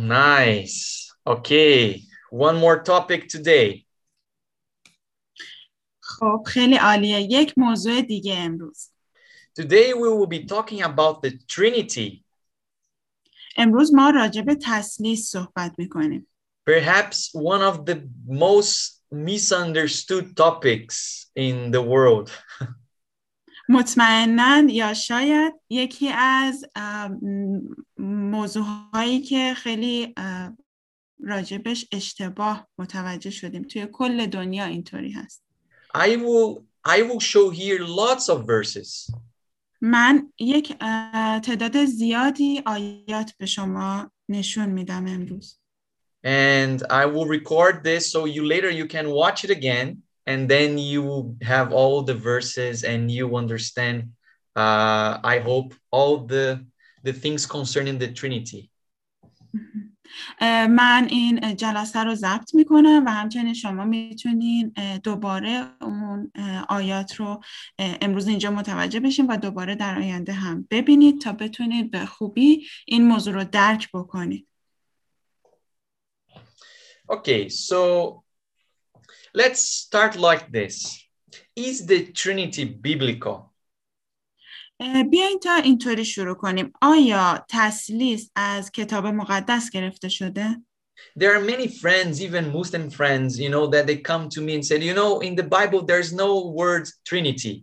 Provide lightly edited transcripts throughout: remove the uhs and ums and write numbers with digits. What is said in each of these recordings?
Nice. Okay. One more topic today. خب خیلی عالیه. یک موضوع دیگه امروز. Today we will be talking about the Trinity. امروز ما راجع به تثلیث صحبت میکنیم. Perhaps one of the most misunderstood topics in the world. مطمئناً یا شاید یکی از موضوعهایی که خیلی راجبش اشتباه متوجه شدیم. توی کل دنیا اینطوری هست. I will show here lots of verses. من یک تعداد زیادی آیات به شما نشون میدم امروز. And I will record this so you can watch it again and then you will have all the verses and you understand, I hope, all the things concerning the Trinity. من این جلسه رو ضبط میکنم و همچنین شما میتونین دوباره اون آیات رو امروز اینجا متوجه بشین و دوباره در آینده هم ببینید تا بتونید به خوبی این موضوع رو درک بکنید. Okay, so let's start like this. Is the Trinity biblical? بیاین تا اینطوری شروع کنیم. آیا تثلیث از کتاب مقدس گرفته شده؟ There are many friends, even Muslim friends, that they come to me and said, in the Bible, there's no word Trinity.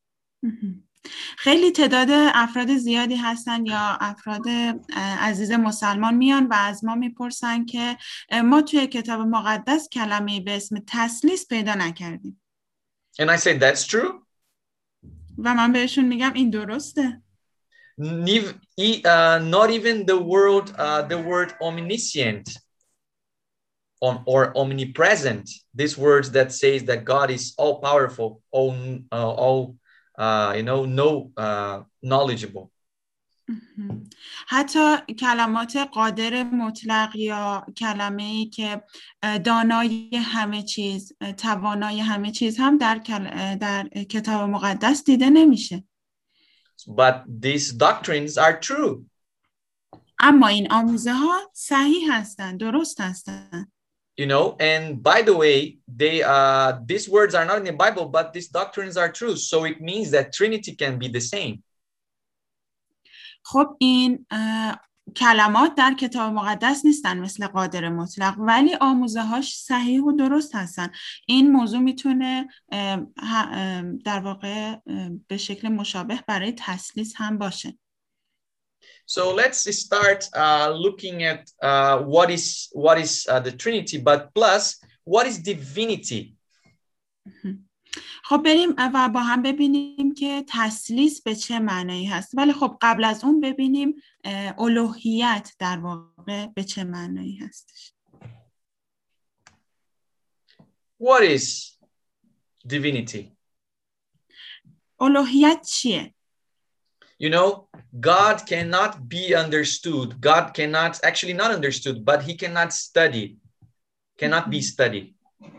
خیلی تعداد افراد زیادی هستن یا افراد عزیز مسلمان میان و از ما میپرسن که ما توی کتاب مقدس کلمه‌ای به اسم تثلیث پیدا نکردیم. And I said, that's true. و من بهشون میگم این درسته. Not even the word omniscient or omnipresent, these words that says that God is all powerful, all knowledgeable. حتی کلمات قادر مطلق یا کلمه‌ای که دانای همه چیز، توانای همه چیز هم در کتاب مقدس دیده نمیشه. But these doctrines are true. اما این آموزه ها صحیح هستند، درست هستند. And by the way, these words are not in the Bible, but these doctrines are true. So it means that Trinity can be the same. خب این کلمات در کتاب مقدس نیستن مثل قادر مطلق، ولی آموزه هاش صحیح و درست هستن. این موضوع میتونه در واقع به شکل مشابه برای تثلیث هم باشه. So let's start looking at what is the Trinity, but plus what is divinity. خب بریم و با هم ببینیم که تثلیث به چه معنایی هست. ولی خب قبل از اون ببینیم الوهیت در واقع به چه معنایی هستش. What is divinity? الوهیت چیه؟ God cannot be understood. God cannot, actually not understood, but he cannot be studied.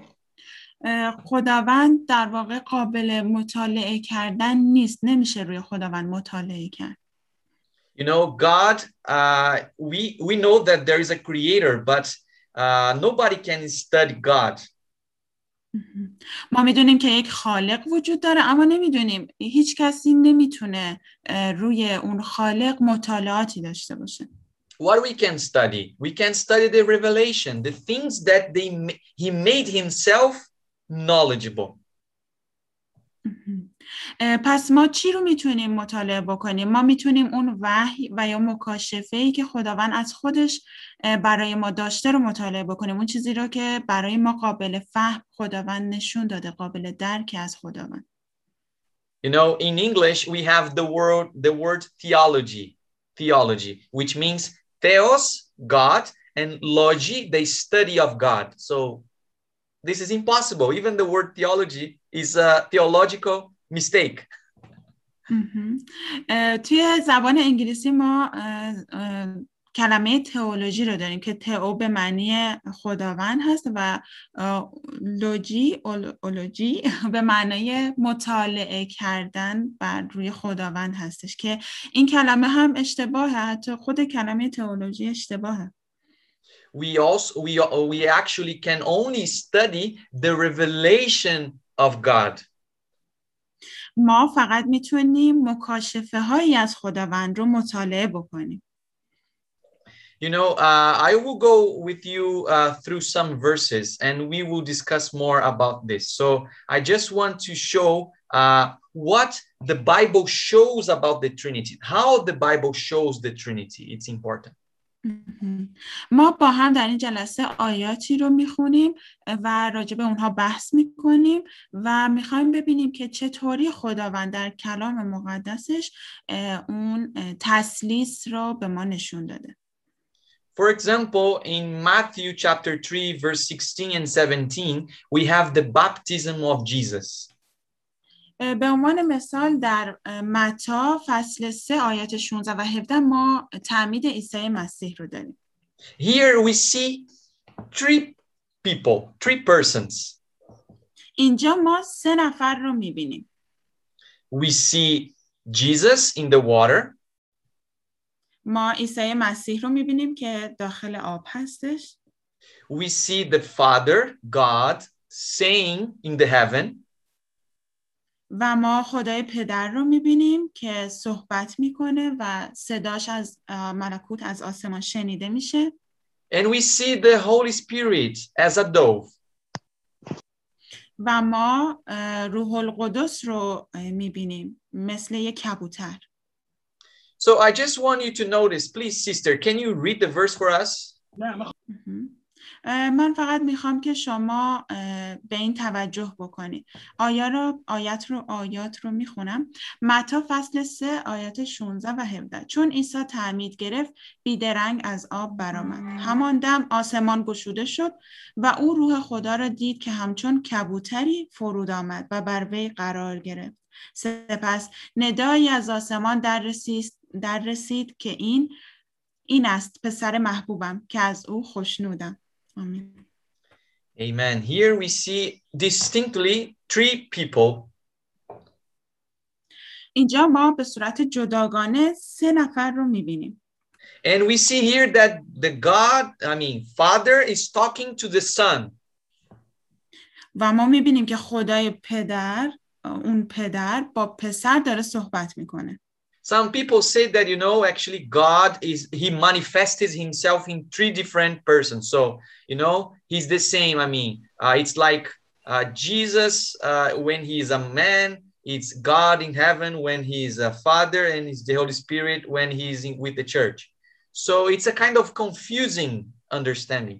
خداوند در واقع قابل مطالعه کردن نیست. نمیشه روی خداوند مطالعه کرد. God, we know that there is a creator, but nobody can study God. ما میدونیم که یک خالق وجود داره، اما نمیدونیم، هیچ کسی نمیتونه روی اون خالق مطالعاتی داشته باشه. What we can study? We can study the revelation, the things that he made himself knowledgeable. پس ما چی رو میتونیم مطالعه بکنیم؟ ما میتونیم اون وحی و یا مکاشفه‌ای که خداوند از خودش برای ما داشته رو مطالعه بکنیم. اون چیزی رو که برای ما قابل فهم خداوند نشون داده، قابل درک از خداوند. In English we have the word theology, which means theos, God, and logi, the study of God. So this is impossible. Even the word theology is a theological mistake. توی زبان انگلیسی ما کلمه تئولوژی رو داریم که تئو به معنی خداوند هست و اولوژی به معنی مطالعه کردن بر روی خداوند هستش که این کلمه هم اشتباهه. حتی خود کلمه تئولوژی اشتباهه. we actually can only study the revelation of God. ما فقط میتونیم مکاشفه هایی از خداوند رو مطالعه بکنیم. You know, I will go with you through some verses and we will discuss more about this. So I just want to show what the Bible shows about the Trinity, how the Bible shows the Trinity. It's important. ما با هم در این جلسه آیاتی رو میخونیم و راجع به اونها بحث میکنیم و میخوایم ببینیم که چطوری خداوند در کلام مقدسش اون تثلیث رو به ما نشون داده. For example, in Matthew chapter 3, verse 16 and 17, we have the baptism of Jesus. به عنوان مثال در متی فصل 3 آیات 16 و 17 ما تعمید عیسی مسیح رو داریم. Here we see three people, three persons. اینجا ما 3 نفر رو میبینیم. We see Jesus in the water. ما عیسی مسیح رو میبینیم که داخل آب هستش. We see the Father, God, saying in the heaven. و ما خدای پدر رو میبینیم که صحبت میکنه و صداش از ملکوت از آسمان شنیده میشه. And we see the Holy Spirit as a dove. و ما روح القدس رو میبینیم مثل یک کبوتر. So I just want you to notice, please, sister, can you read the verse for us? من فقط میخوام که شما به این توجه بکنید. آیات رو میخونم. متی فصل 3 آیات 16 و 17. چون عیسی تعمید گرفت بیدرنگ از آب برآمد. همان دم آسمان گشوده شد و او روح خدا را دید که همچون کبوتری فرود آمد و بر وی قرار گرفت. سپس ندایی از آسمان در رسید که این است پسر محبوبم که از او خوشنودم. Amen. Amen. Here we see distinctly three people. اینجا ما به صورت جداگانه 3 نفر رو می‌بینیم. And we see here that Father is talking to the Son. و ما می‌بینیم که خدای پدر، اون پدر با پسر داره صحبت میکنه. Some people say that, actually God he manifested himself in 3 different persons. So, he's the same. It's like Jesus when he is a man, it's God in heaven when he is a father, and it's the Holy Spirit when he is with the church. So it's a kind of confusing understanding.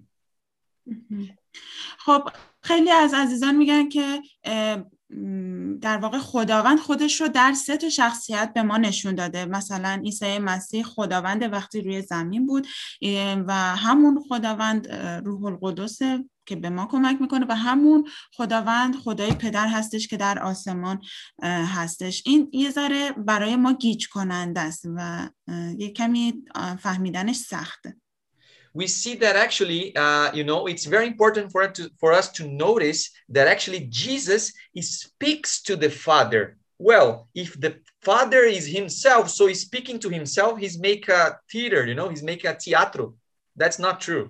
خب خیلی از عزیزان میگن که در واقع خداوند خودش رو در 3 تا شخصیت به ما نشون داده. مثلا عیسی مسیح خداوند وقتی روی زمین بود و همون خداوند روح القدس که به ما کمک میکنه و همون خداوند خدای پدر هستش که در آسمان هستش. این یه ذره برای ما گیج کننده است و یه کمی فهمیدنش سخته. We see that actually, it's very important for us to notice that actually Jesus speaks to the Father. Well, if the Father is himself, so he's speaking to himself, he's make a theater, he's make a teatro. That's not true.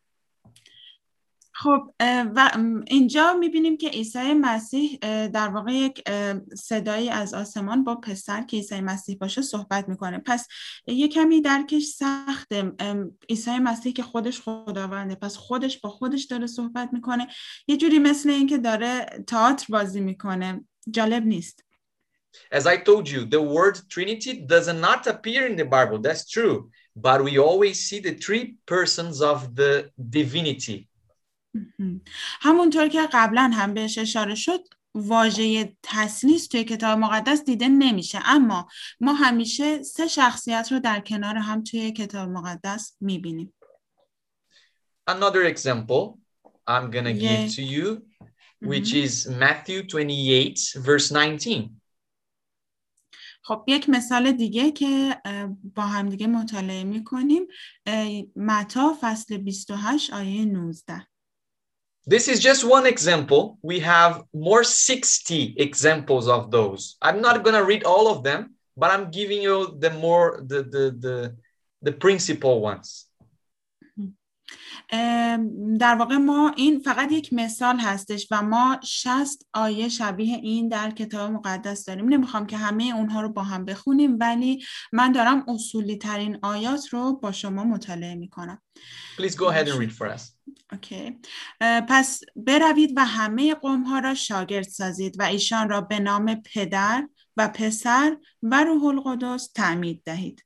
خب و اینجا میبینیم که عیسی مسیح در واقع یک صدایی از آسمان با پسر که عیسی مسیح باشه صحبت میکنه. پس یه کمی درکش سخته. عیسی مسیح که خودش خداونده، پس خودش با خودش داره صحبت میکنه. یه جوری مثل این که داره تئاتر بازی میکنه. جالب نیست. As I told you, the word Trinity does not appear in the Bible. That's true. But we always see the 3 persons of the divinity. همونطور که قبلا هم بهش اشاره شد واژه تثلیث توی کتاب مقدس دیده نمیشه، اما ما همیشه 3 شخصیت رو در کنار هم توی کتاب مقدس میبینیم. Another example I'm gonna give to you, which is Matthew 28 verse 19. خب یک مثال دیگه که با هم دیگه مطالعه میکنیم متی فصل 28 آیه 19. This is just one example. We have more 60 examples of those. I'm not going to read all of them, but I'm giving you the principal ones. در واقع ما این فقط یک مثال هستش و ما 60 آیه شبیه این در کتاب مقدس داریم. نمیخوام که همه اونها رو با هم بخونیم، ولی من دارم اصولی ترین آیات رو با شما مطالعه میکنم. Please go ahead and read for us. اوکی. پس بروید و همه قوم‌ها را شاگرد سازید و ایشان را به نام پدر و پسر و روح القدس تعمید دهید.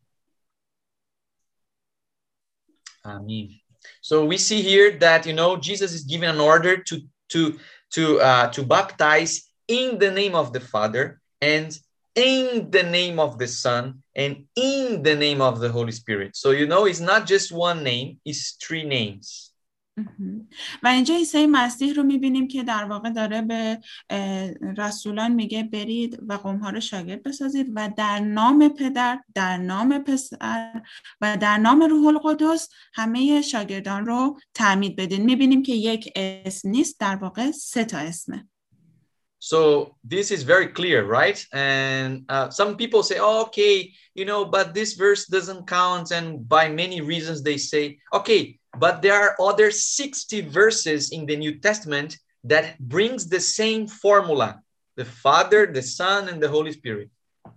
Amen. So we see here that, you know, Jesus is giving an order to baptize in the name of the Father and in the name of the Son and in the name of the Holy Spirit. So, you know, it's not just one name, it's three names. و اینجا عیسی مسیح رو میبینیم که در واقع داره به رسولان میگه برید و قوم‌ها رو شاگرد بسازید و در نام پدر، در نام پسر و در نام روح القدس همه شاگردان رو تعمید بدین. میبینیم که یک اسم نیست، در واقع 3 تا اسمه. So this is very clear, right? And some people say, oh, okay, you know, but this verse doesn't count. And by many reasons they say, okay, but there are other 60 verses in the New Testament that brings the same formula, the Father, the Son, and the Holy Spirit.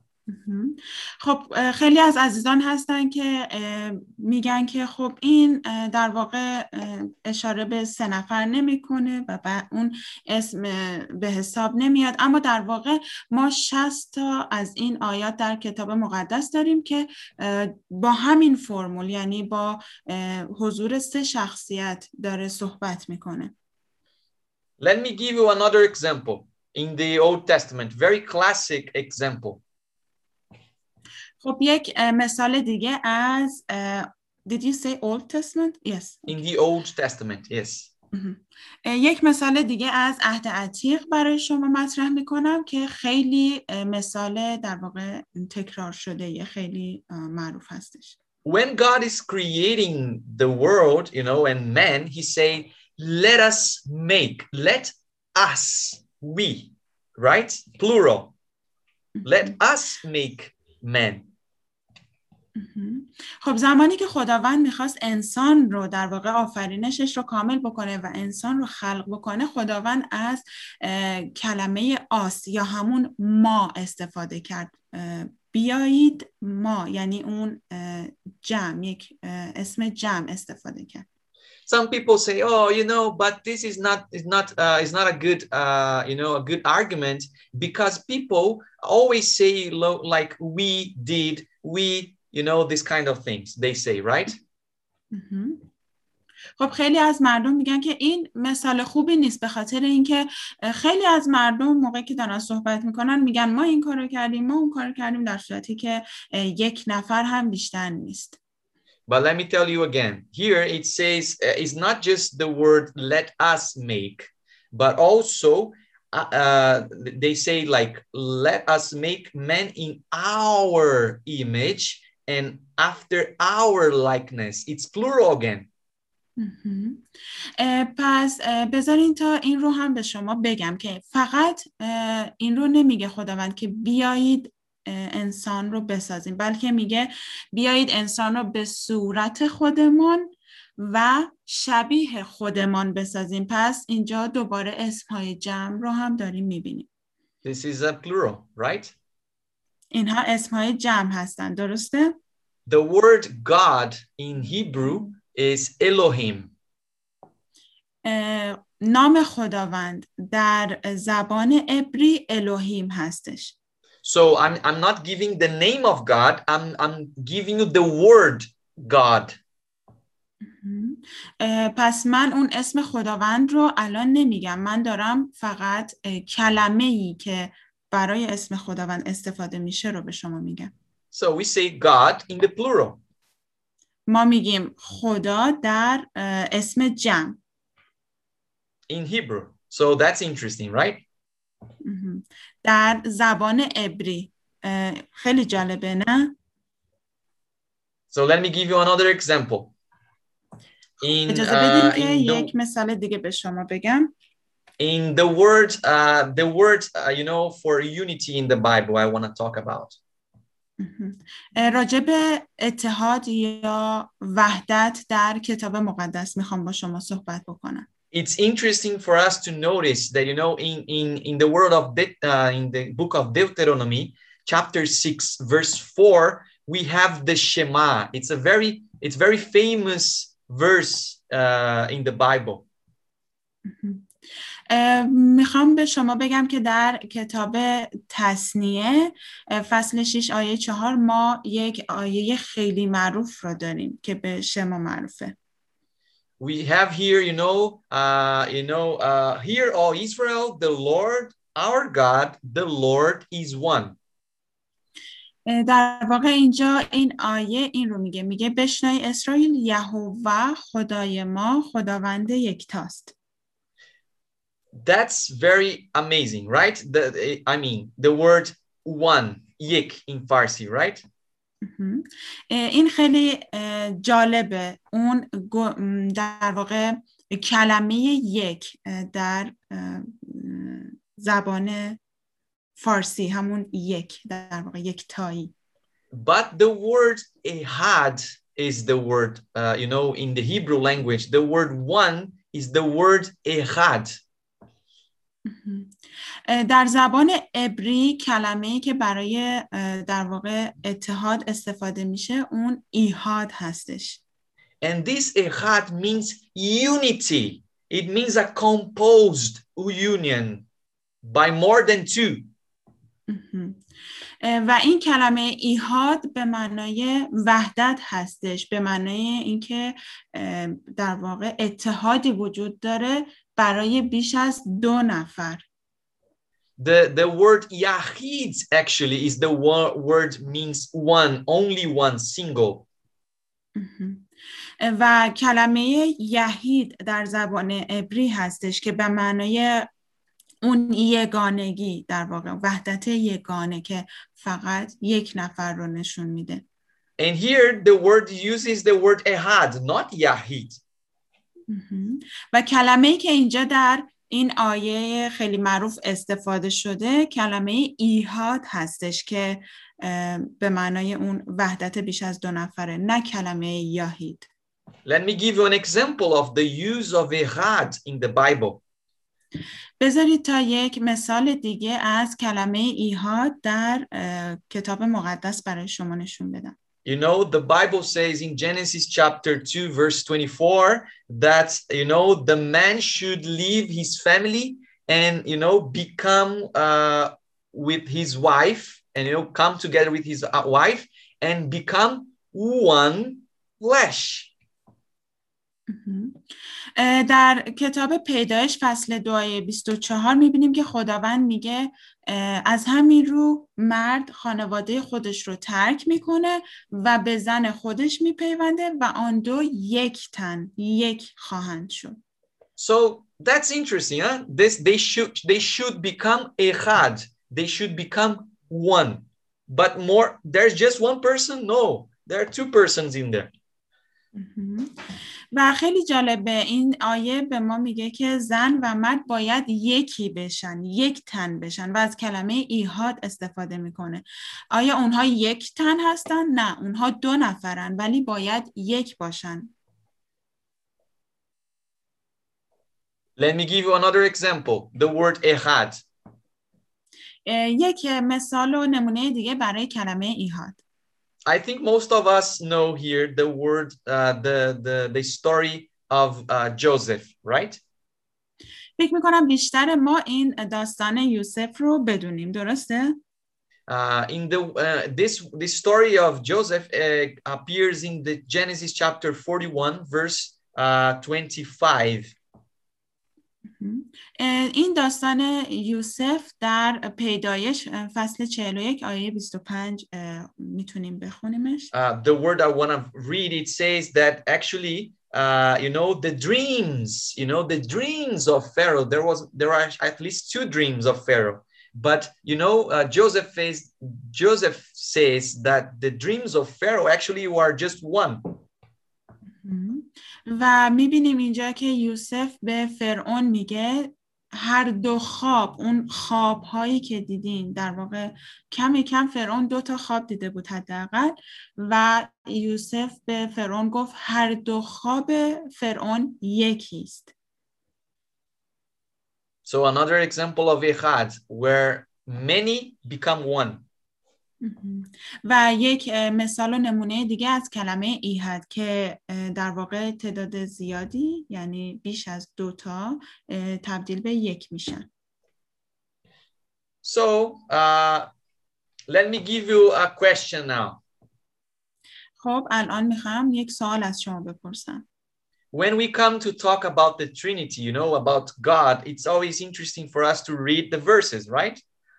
خب خیلی از عزیزان هستن که میگن که خب این در واقع اشاره به 3 نفر نمیکنه و اون اسم به حساب نمیاد، اما در واقع ما 60 تا از این آیات در کتاب مقدس داریم که با همین فرمول، یعنی با حضور 3 شخصیت داره صحبت میکنه. Let me give you another example in the Old Testament, very classic example. خب یک مثال دیگه از Did you say Old Testament? Yes. In the Old Testament, yes. یک مثال دیگه از عهد عتیق برای شما مطرح میکنم که خیلی مثال در واقع تکرار شده، خیلی معروف هستش. When God is creating the world, you know, and man, he say, let us make, let us, we, right? Plural. Let us make man. خب زمانی که خداوند میخواست انسان رو در واقع آفرینشش رو کامل بکنه و انسان رو خلق بکنه، خداوند از کلمه آس یا همون ما استفاده کرد. بیایید ما، یعنی اون جمع، یک اسم جمع استفاده کرد. Some people say, oh, you know, but this is not a good, you know, a good argument, because people always say like we did, we, you know, this kind of things they say, right? خب خیلی از مردم میگن که این مثال خوبی نیست، به خاطر اینکه خیلی از مردم موقعی که دارن صحبت میکنن میگن ما این کارو کردیم، ما اون کارو کردیم، در صورتی که یک نفر هم بیشتر نیست. But let me tell you again, here it says it's not just the word let us make, but also they say like let us make man in our image and after our likeness. It's plural again. پس بذارین تا این رو هم به شما بگم که فقط این رو نمیگه خداوند که بیایید انسان رو بسازیم، بلکه میگه بیایید انسان رو به صورت خودمان و شبیه خودمان بسازیم. پس اینجا دوباره اسمهای جمع رو هم داریم میبینیم. This is a plural, right? اینها اسمهای جمع هستن، درسته؟ The word God in Hebrew is Elohim. نام خداوند در زبان عبری الوهیم هستش. So I'm not giving the name of God, I'm giving you the word God. پس من اون اسم خداوند رو الان نمیگم، من دارم فقط کلمه‌ای که برای اسم خداوند استفاده میشه رو به شما میگم. So we say God in the plural. ما میگیم خدا در اسم جمع. In Hebrew. So that's interesting, right? در زبان عبری. خیلی جالبه، نه؟ So let me give you another example. اجازه بدین که یک مثال دیگه به شما بگم. In the word, you know, for unity in the Bible, I want to talk about. راجع به اتحاد یا وحدت در کتاب مقدس میخوام با شما صحبت بکنم. It's interesting for us to notice that, you know, in the word of in the book of Deuteronomy, chapter 6, verse 4, we have the Shema. It's very famous verse in the Bible. میخوام به شما بگم که در کتاب تثنیه فصل 6 آیه 4 ما یک آیه خیلی معروف را داریم که به شما معروفه. We have here, hear, O Israel, the Lord, our God, the Lord is one. در واقع اینجا این آیه این رو میگه بشنوی اسرائیل، یهوه خدای ما خداوند یکتاست. That's very amazing, right? The word one, yek in Farsi, right? این خیلی جالبه. اون در واقع کلمه یک در زبان فارسی همون یک، در واقع یک تایی. But the word ehad is the word, in the Hebrew language, the word one is the word ehad. در زبان عبری کلمه‌ای که برای در واقع اتحاد استفاده میشه اون ایحاد هستش. And this ehad means unity. It means a composed union by more than two. و این کلمه ایحاد به معنای وحدت هستش، به معنای اینکه در واقع اتحادی وجود داره برای بیش از 2 نفر. The word yahid actually is the word means one, only one, single. و کلمه یحید در زبان عبری هستش که به معنای اون یگانگی، در واقع وحدت یگانه که فقط یک نفر رو نشون میده. And here the word uses the word ehad, not yahid. و کلمه‌ای که اینجا در این آیه خیلی معروف استفاده شده کلمه ایحاد هستش که به معنای اون وحدت بیش از 2 نفره، نه کلمه یحید. Let me give you an example of the use of ehad in the Bible. بذارید تا یک مثال دیگه از کلمه ایحاد در کتاب مقدس برای شما نشون بدم. You know, the Bible says in Genesis chapter 2, verse 24, that, the man should leave his family and, become with his wife and, come together with his wife and become one flesh. در کتاب پیدایش فصل 2 آیه 24 میبینیم که خداوند میگه از همین رو مرد خانواده خودش رو ترک میکنه و به زن خودش میپیونده و آن دو یک تن، یک خواهند شد. So that's interesting, huh? They should become ehad. They should become one. But there's just one person? No, there are 2 persons in there. و خیلی جالبه این آیه به ما میگه که زن و مرد باید یکی بشن، یک تن بشن و از کلمه ایحاد استفاده میکنه. آیا اونها یک تن هستن؟ نه، اونها 2 نفرن ولی باید یک باشن. Let me give you another example. The word ehad. یک مثال و نمونه دیگه برای کلمه ایحاد. I think most of us know here the word, the story of Joseph, right? فکر میکنم بیشتر ما این داستان یوسف رو بدونیم، درسته؟ In this story of Joseph appears in the Genesis chapter 41, verse 25. این داستان یوسف در پیدایش فصل 41 آیه 25 میتونیم بخونیمش. The word I want to read, it says that actually, the dreams of Pharaoh, there are at least 2 dreams of Pharaoh. But, Joseph says that the dreams of Pharaoh actually were just one. و میبینیم اینجا که یوسف به فرعون میگه هر دو خواب، اون خواب هایی که دیدین، در واقع کم فرعون 2 خواب دیده بود حداقل و یوسف به فرعون گفت هر دو خواب فرعون یکی است. So another example of Echad, where many become one. و یک مثال و نمونه دیگه از کلمه ایحد که در واقع تعداد زیادی یعنی بیش از 2 تبدیل به یک میشن. So let me give you a question now. خب الان میخوام یک سوال از شما بپرسم. When we come to talk about the Trinity, you know, about God, it's always interesting for us to read the verses, right?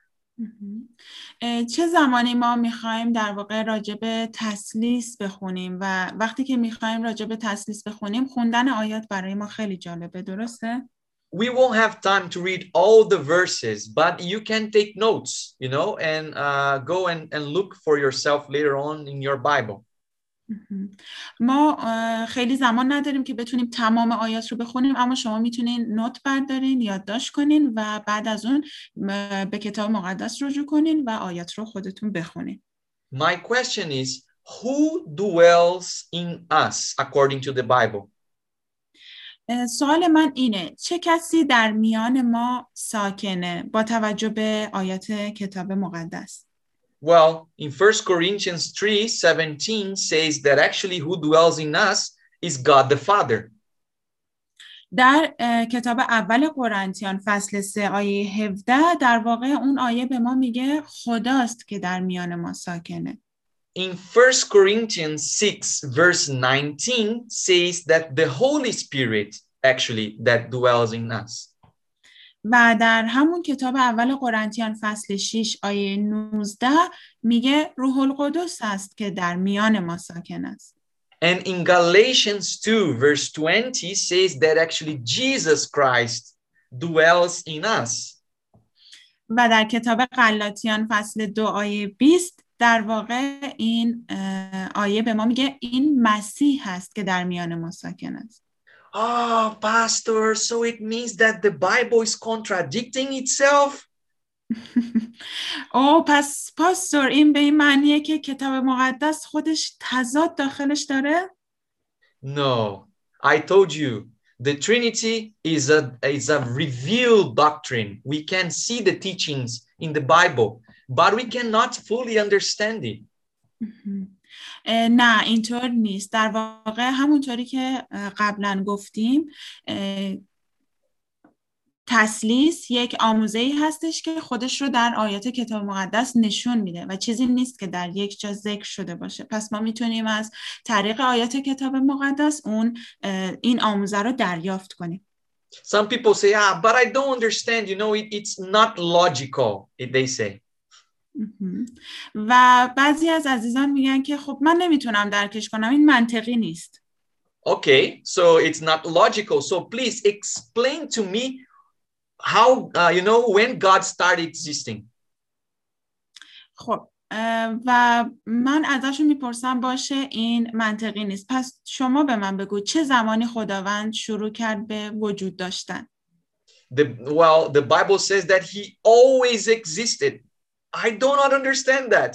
چه زمانی ما میخوایم در واقع راجع به تثلیث بخونیم و وقتی که میخوایم راجع به تثلیث بخونیم خوندن آیات برای ما خیلی جالبه، درسته؟ We won't have time to read all the verses, but you can take notes, you know, and go and look for yourself later on in your Bible. ما خیلی زمان نداریم که بتونیم تمام آیات رو بخونیم، اما شما میتونین نوت بردارین، یادداشت کنین و بعد از اون به کتاب مقدس رجوع کنین و آیات رو خودتون بخونین. My question is, who dwells in us according to the Bible? سوال من اینه، چه کسی در میان ما ساکنه با توجه به آیات کتاب مقدس؟ Well, in 1 Corinthians 3:17 says that actually who dwells in us is God the Father. در کتاب اول قرنتیان فصل 3 آیه 17 در واقع اون آیه به ما میگه خداست که در میان ما ساکنه. In 1 Corinthians 6 verse 19 says that the Holy Spirit actually that dwells in us. و در همون کتاب اول قرنتیان فصل 6 آیه 19 میگه روح القدس است که در میان ما ساکن است. And in Galatians 2 verse 20 says that actually Jesus Christ dwells in us. و در کتاب غلاطیان فصل 2 آیه 20 در واقع این آیه به ما میگه این مسیح هست که در میان ما ساکن است. Oh, pastor, so it means that the Bible is contradicting itself? پس پاستور این به این معنیه که کتاب مقدس خودش تضاد داخلش داره؟ No, I told you, the Trinity is a revealed doctrine. We can see the teachings in the Bible, but we cannot fully understand it. نه اینطور نیست. در واقع همونطوری که قبلا گفتیم تثلیث یک آموزه‌ای هستش که خودش رو در آیات کتاب مقدس نشون میده و چیزی نیست که در یک جا ذکر شده باشه. پس ما میتونیم از طریق آیات کتاب مقدس این آموزه رو دریافت کنیم. Some people say, but I don't understand, you know, it's not logical, they say. و بعضی از عزیزان میگن که خب من نمیتونم درکش کنم، این منطقی نیست. Okay, so it's not logical. So please explain to me how, you know, when God started existing. خب و من ازشون میپرسم باشه این منطقی نیست. پس شما به من بگو چه زمانی خداوند شروع کرد به وجود داشتن؟ Well, the Bible says that he always existed. I do not understand that.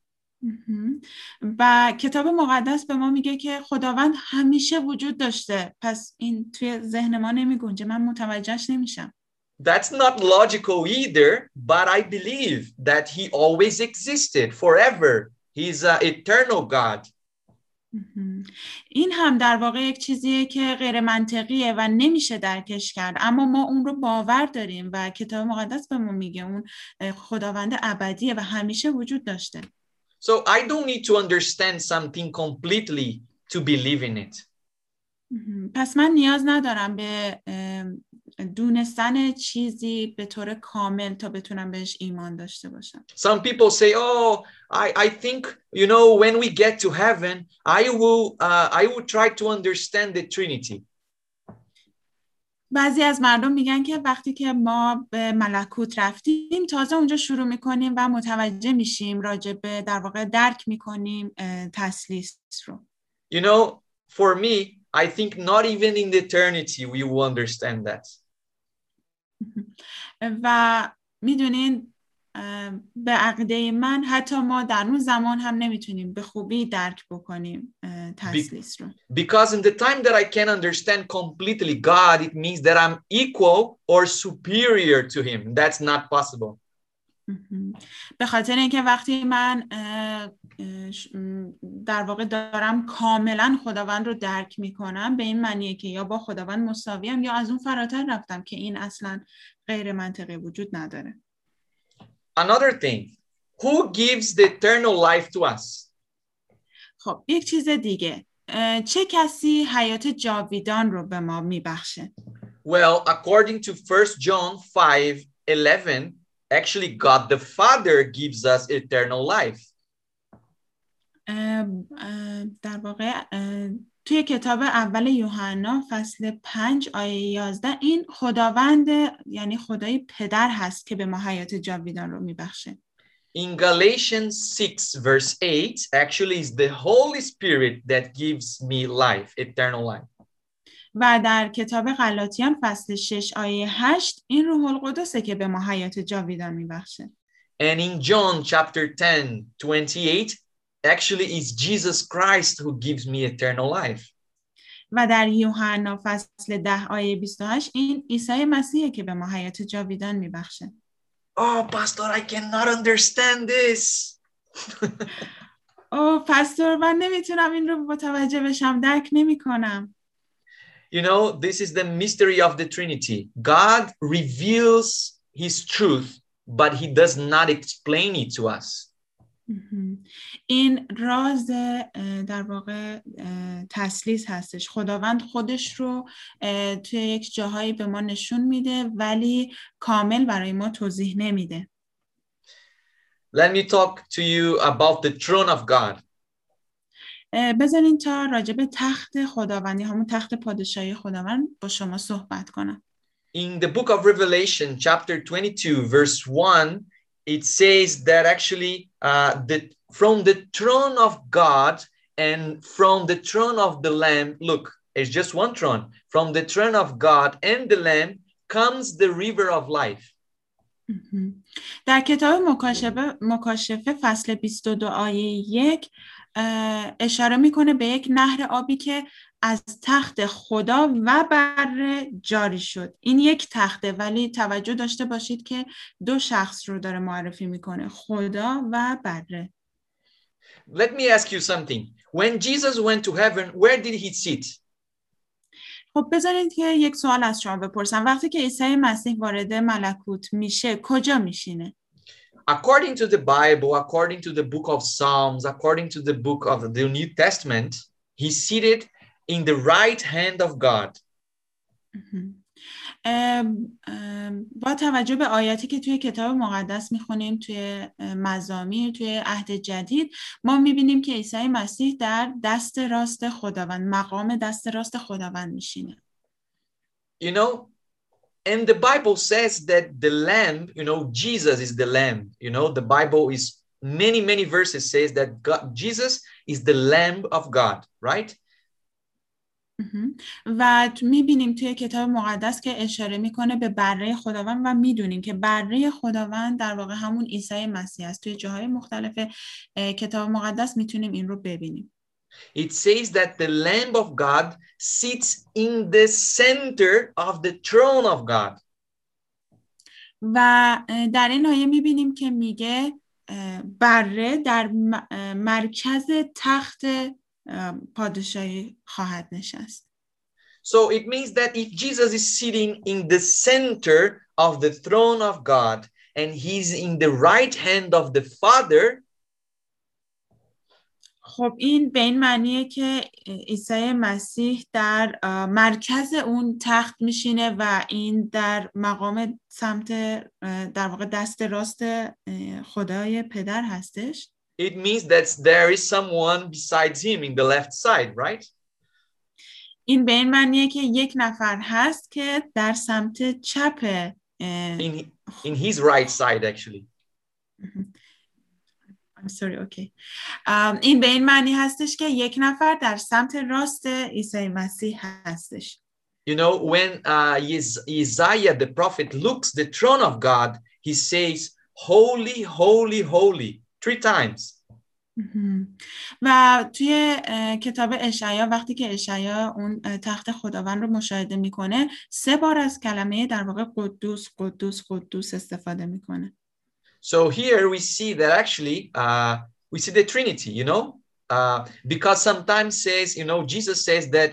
و کتاب مقدس به ما میگه که خداوند همیشه وجود داشته. پس این توی ذهن ما نمیگنجه، من متوجهش نمیشم. That's not logical either, but I believe that he always existed forever. He's an eternal God. این هم در واقع یک چیزیه که غیر منطقیه و نمیشه درکش کرد، اما ما اون رو باور داریم و کتاب مقدس به ما میگه اون خداوند ابدیه و همیشه وجود داشته. So I don't need to understand something completely to believe in it. پس من نیاز ندارم به دونستن چیزی به طور کامل تا بتونم بهش ایمان داشته باشم. Some people say, oh, I think, you know, when we get to heaven, I will try to understand the Trinity. بعضی از مردم میگن که وقتی که ما به ملکوت رفتیم تازه اونجا شروع میکنیم و متوجه میشیم راجع به در واقع درک میکنیم تثلیث رو. You know, for me, I think not even in the eternity we will understand that. و میدونین به عقیده من حتی ما در اون زمان هم نمیتونیم به خوبی درک بکنیم تثلیث رو. Because in the time that I can understand completely God, it means that I'm equal or superior to him. That's not possible. به خاطر اینکه وقتی من در واقع دارم کاملا خداوند رو درک میکنم، به این معنیه که یا با خداوند مساویم یا از اون فراتر رفتم، که این اصلا غیر منطقی وجود نداره. Another thing, who gives the eternal life to us? خب یک چیز دیگه، چه کسی حیات جاویدان رو به ما میبخشه؟ Well, according to 1 John 5:11, actually God the Father gives us eternal life. در واقع توی کتاب اول یوحنا فصل 5 آیه 11 این خداوند یعنی خدای پدر هست که به ما حیات جاویدان رو میبخشه. In Galatians 6 verse 8, actually is the Holy Spirit that gives me life, eternal life. و در کتاب غلاطیان فصل 6 آیه 8 این روح القدسه که به ما حیات جاویدان میبخشه. And in John chapter 10:28, actually is Jesus Christ who gives me eternal life. و در یوحنا فصل 10 آیه 28 این عیسی مسیحه که به ما حیات جاویدان میبخشه. Oh, Pastor, I cannot understand this. پاستور من نمیتونم این رو متوجه بشم، درک نمیکنم. You know, this is the mystery of the Trinity. God reveals his truth, but he does not explain it to us. این راز در واقع تثلیث هستش. خداوند خودش رو توی یک جاهایی به ما نشون میده ولی کامل برای ما توضیح نمیده. Let me talk to you about the throne of God. بذارین تا راجع به تخت خداوندی، همون تخت پادشاهی خداوند با شما صحبت کنم. In the book of Revelation, chapter 22, verse 1, it says that actually from the throne of God and from the throne of the Lamb, look, it's just one throne. From the throne of God and the Lamb comes the river of life. در کتاب مکاشفه فصل 22 آیه 1 اشاره میکنه به یک نهر آبی که از تخت خدا و بره جاری شد. این یک تخته ولی توجه داشته باشید که دو شخص رو داره معرفی میکنه، خدا و بره. Let me ask you something. When Jesus went to heaven, where did he sit? خب بذارید که یک سوال از شما بپرسم. وقتی که عیسی مسیح وارد ملکوت میشه کجا میشینه؟ According to the Bible, according to the book of Psalms, according to the book of the New Testament, he's seated in the right hand of God. با توجه به آیاتی که توی کتاب مقدس میخونیم، توی مزامیر، توی عهد جدید، ما میبینیم که عیسی مسیح در دست راست خداوند، مقام دست راست خداوند میشینه. You know, and the Bible says that the lamb, you know, Jesus is the lamb. You know, the Bible is many verses says that Jesus is the lamb of God, right? و میبینیم توی کتاب مقدس که اشاره میکنه به بره خداوند و میدونیم که بره خداوند در واقع همون عیسی مسیح است. توی جاهای مختلف کتاب مقدس میتونیم این رو ببینیم. It says that the Lamb of God sits in the center of the throne of God. و در این آیه میبینیم که میگه بره در مرکز تخت پادشاهی خواهد نشست. So it means that if Jesus is sitting in the center of the throne of God and he's in the right hand of the Father, خب این به این معنیه که عیسی مسیح در مرکز اون تخت میشینه و این در مقام سمت در واقع دست راست خدای پدر هستش. It means that there is someone besides him in the left side, right? این به این معنیه که یک نفر هست که در سمت چپ in his right side actually. I'm sorry, okay. این به این معنی هستش که یک نفر در سمت راست عیسی مسیح هستش. You know, when Isaiah the prophet looks the throne of God, he says, holy, holy, holy, 3 times. و توی کتاب اشعیا وقتی که اشعیا اون تخت خداوند رو مشاهده میکنه 3 بار از کلمه در واقع قدوس قدوس قدوس استفاده میکنه. So here we see that actually we see the Trinity, you know, because sometimes says, you know, Jesus says that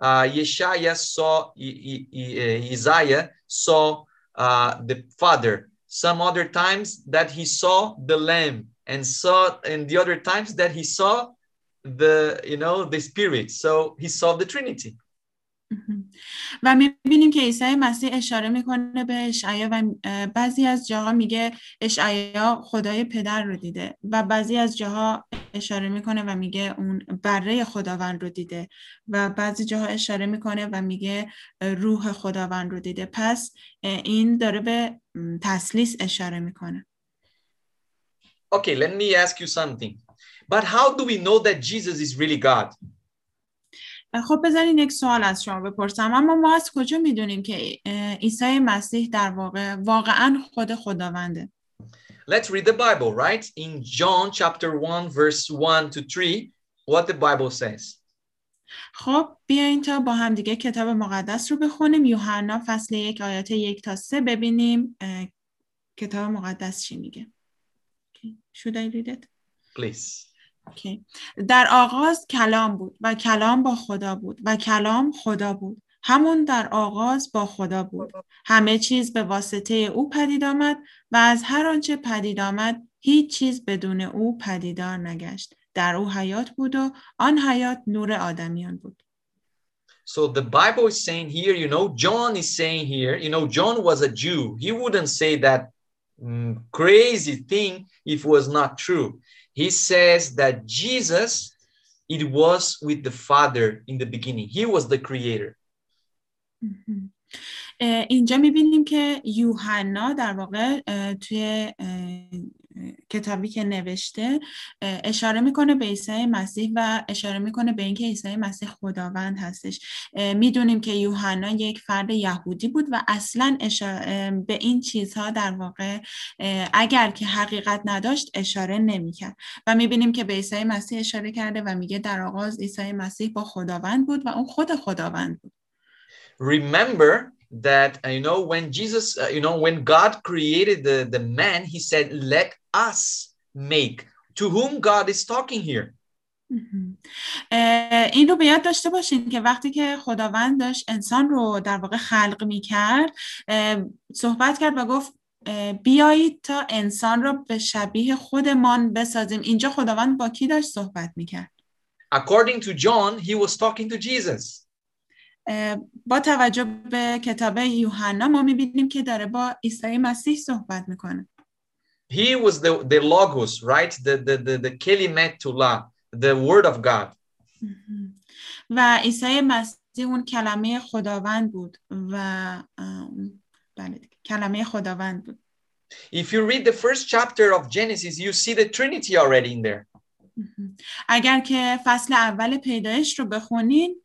Isaiah saw the Father. Some other times that he saw the Lamb, and the other times that he saw the Spirit. So he saw the Trinity. و می‌بینیم که عیسی مسیح اشاره میکنه به اشعیا و بعضی از جاها میگه اشعیا خدای پدر رو دیده و بعضی از جاها اشاره میکنه و میگه اون بره خداوند رو دیده و بعضی جاها اشاره میکنه و میگه روح خداوند رو دیده. پس این داره به تثلیث اشاره میکنه. Okay, let me ask you something. But how do we know that Jesus is really God? خب بذارین یک سوال از شما بپرسم. اما ما از کجا میدونیم که عیسی مسیح در واقع واقعا خود خداونده؟ Let's read the Bible, right? In John chapter 1 verse 1 to 3, what the Bible says. خب بیاین تا با هم دیگه کتاب مقدس رو بخونیم. یوحنا فصل 1 آیات 1 تا 3 ببینیم کتاب مقدس چی میگه. Should I read it? Please. Okay. در آغاز کلام بود و کلام با خدا بود و کلام خدا بود. همون در آغاز با خدا بود. همه چیز به واسطه او پدید آمد و از هر آنچه پدید آمد هیچ چیز بدون او پدیدار نگشت. در او حیات بود و آن حیات نور آدمیان بود. So the Bible is saying here, you know, John is saying here, you know, John was a Jew. He wouldn't say that crazy thing if it was not true. He says that Jesus, it was with the Father in the beginning. He was the creator. اینجا میبینیم که یوحنا در واقع توی کتابی که نوشته اشاره میکنه به عیسی مسیح و اشاره میکنه به اینکه عیسی مسیح خداوند هستش. میدونیم که یوحنا یک فرد یهودی بود و اصلا به این چیزها در واقع اگر که حقیقت نداشت اشاره نمیکرد و میبینیم که به عیسی مسیح اشاره کرده و میگه در آغاز عیسی مسیح با خداوند بود و اون خود خداوند بود. Remember that when Jesus when God created the man, he said let us make. To whom God is talking here? این رو به یاد داشته باشین که وقتی که خداوند داشت انسان رو در واقع خلق می‌کرد صحبت کرد و گفت بیایید تا انسان رو به شبیه خودمان بسازیم. اینجا خداوند با کی داشت صحبت می‌کرد؟ According to John, he was talking to Jesus. با توجه به کتاب یوحنا ما می‌بینیم که داره با عیسی مسیح صحبت می‌کنه. He was the logos, right? The kelimetullah, the word of God. و عیسی مسیح اون کلمه خداوند بود و بله کلمه خداوند بود. If you read the first chapter of Genesis, you see the Trinity already in there. اگر که فصل اول پیدایش رو بخونین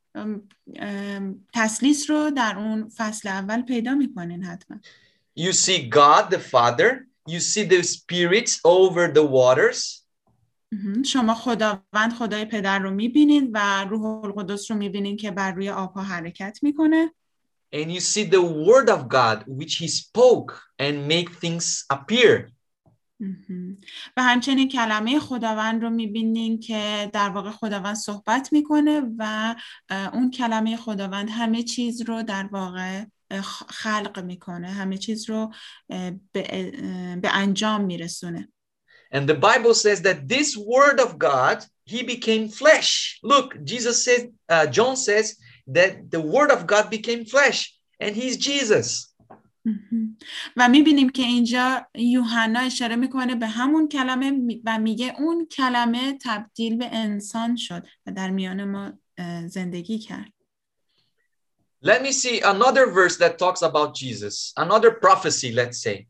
تثلیث رو در اون فصل اول پیدا میکنین حتما. You see God the Father, you see the spirits over the waters. شما خداوند خدای پدر رو میبینین و روح القدس رو میبینین که بر روی آبها حرکت میکنه. And you see the word of God which he spoke and make things appear. و همچنین کلمه خداوند رو میبینین که در واقع خداوند صحبت میکنه و اون کلمه خداوند همه چیز رو در واقع خلق میکنه، همه چیز رو به انجام میرسونه. And the Bible says that this word of God, he became flesh. Look, John says that the word of God became flesh and he's Jesus. و میبینیم که اینجا یوحنا اشاره میکنه به همون کلمه و میگه اون کلمه تبدیل به انسان شد و در میان ما زندگی کرد. Let me see another verse that talks about Jesus, another prophecy, let's say.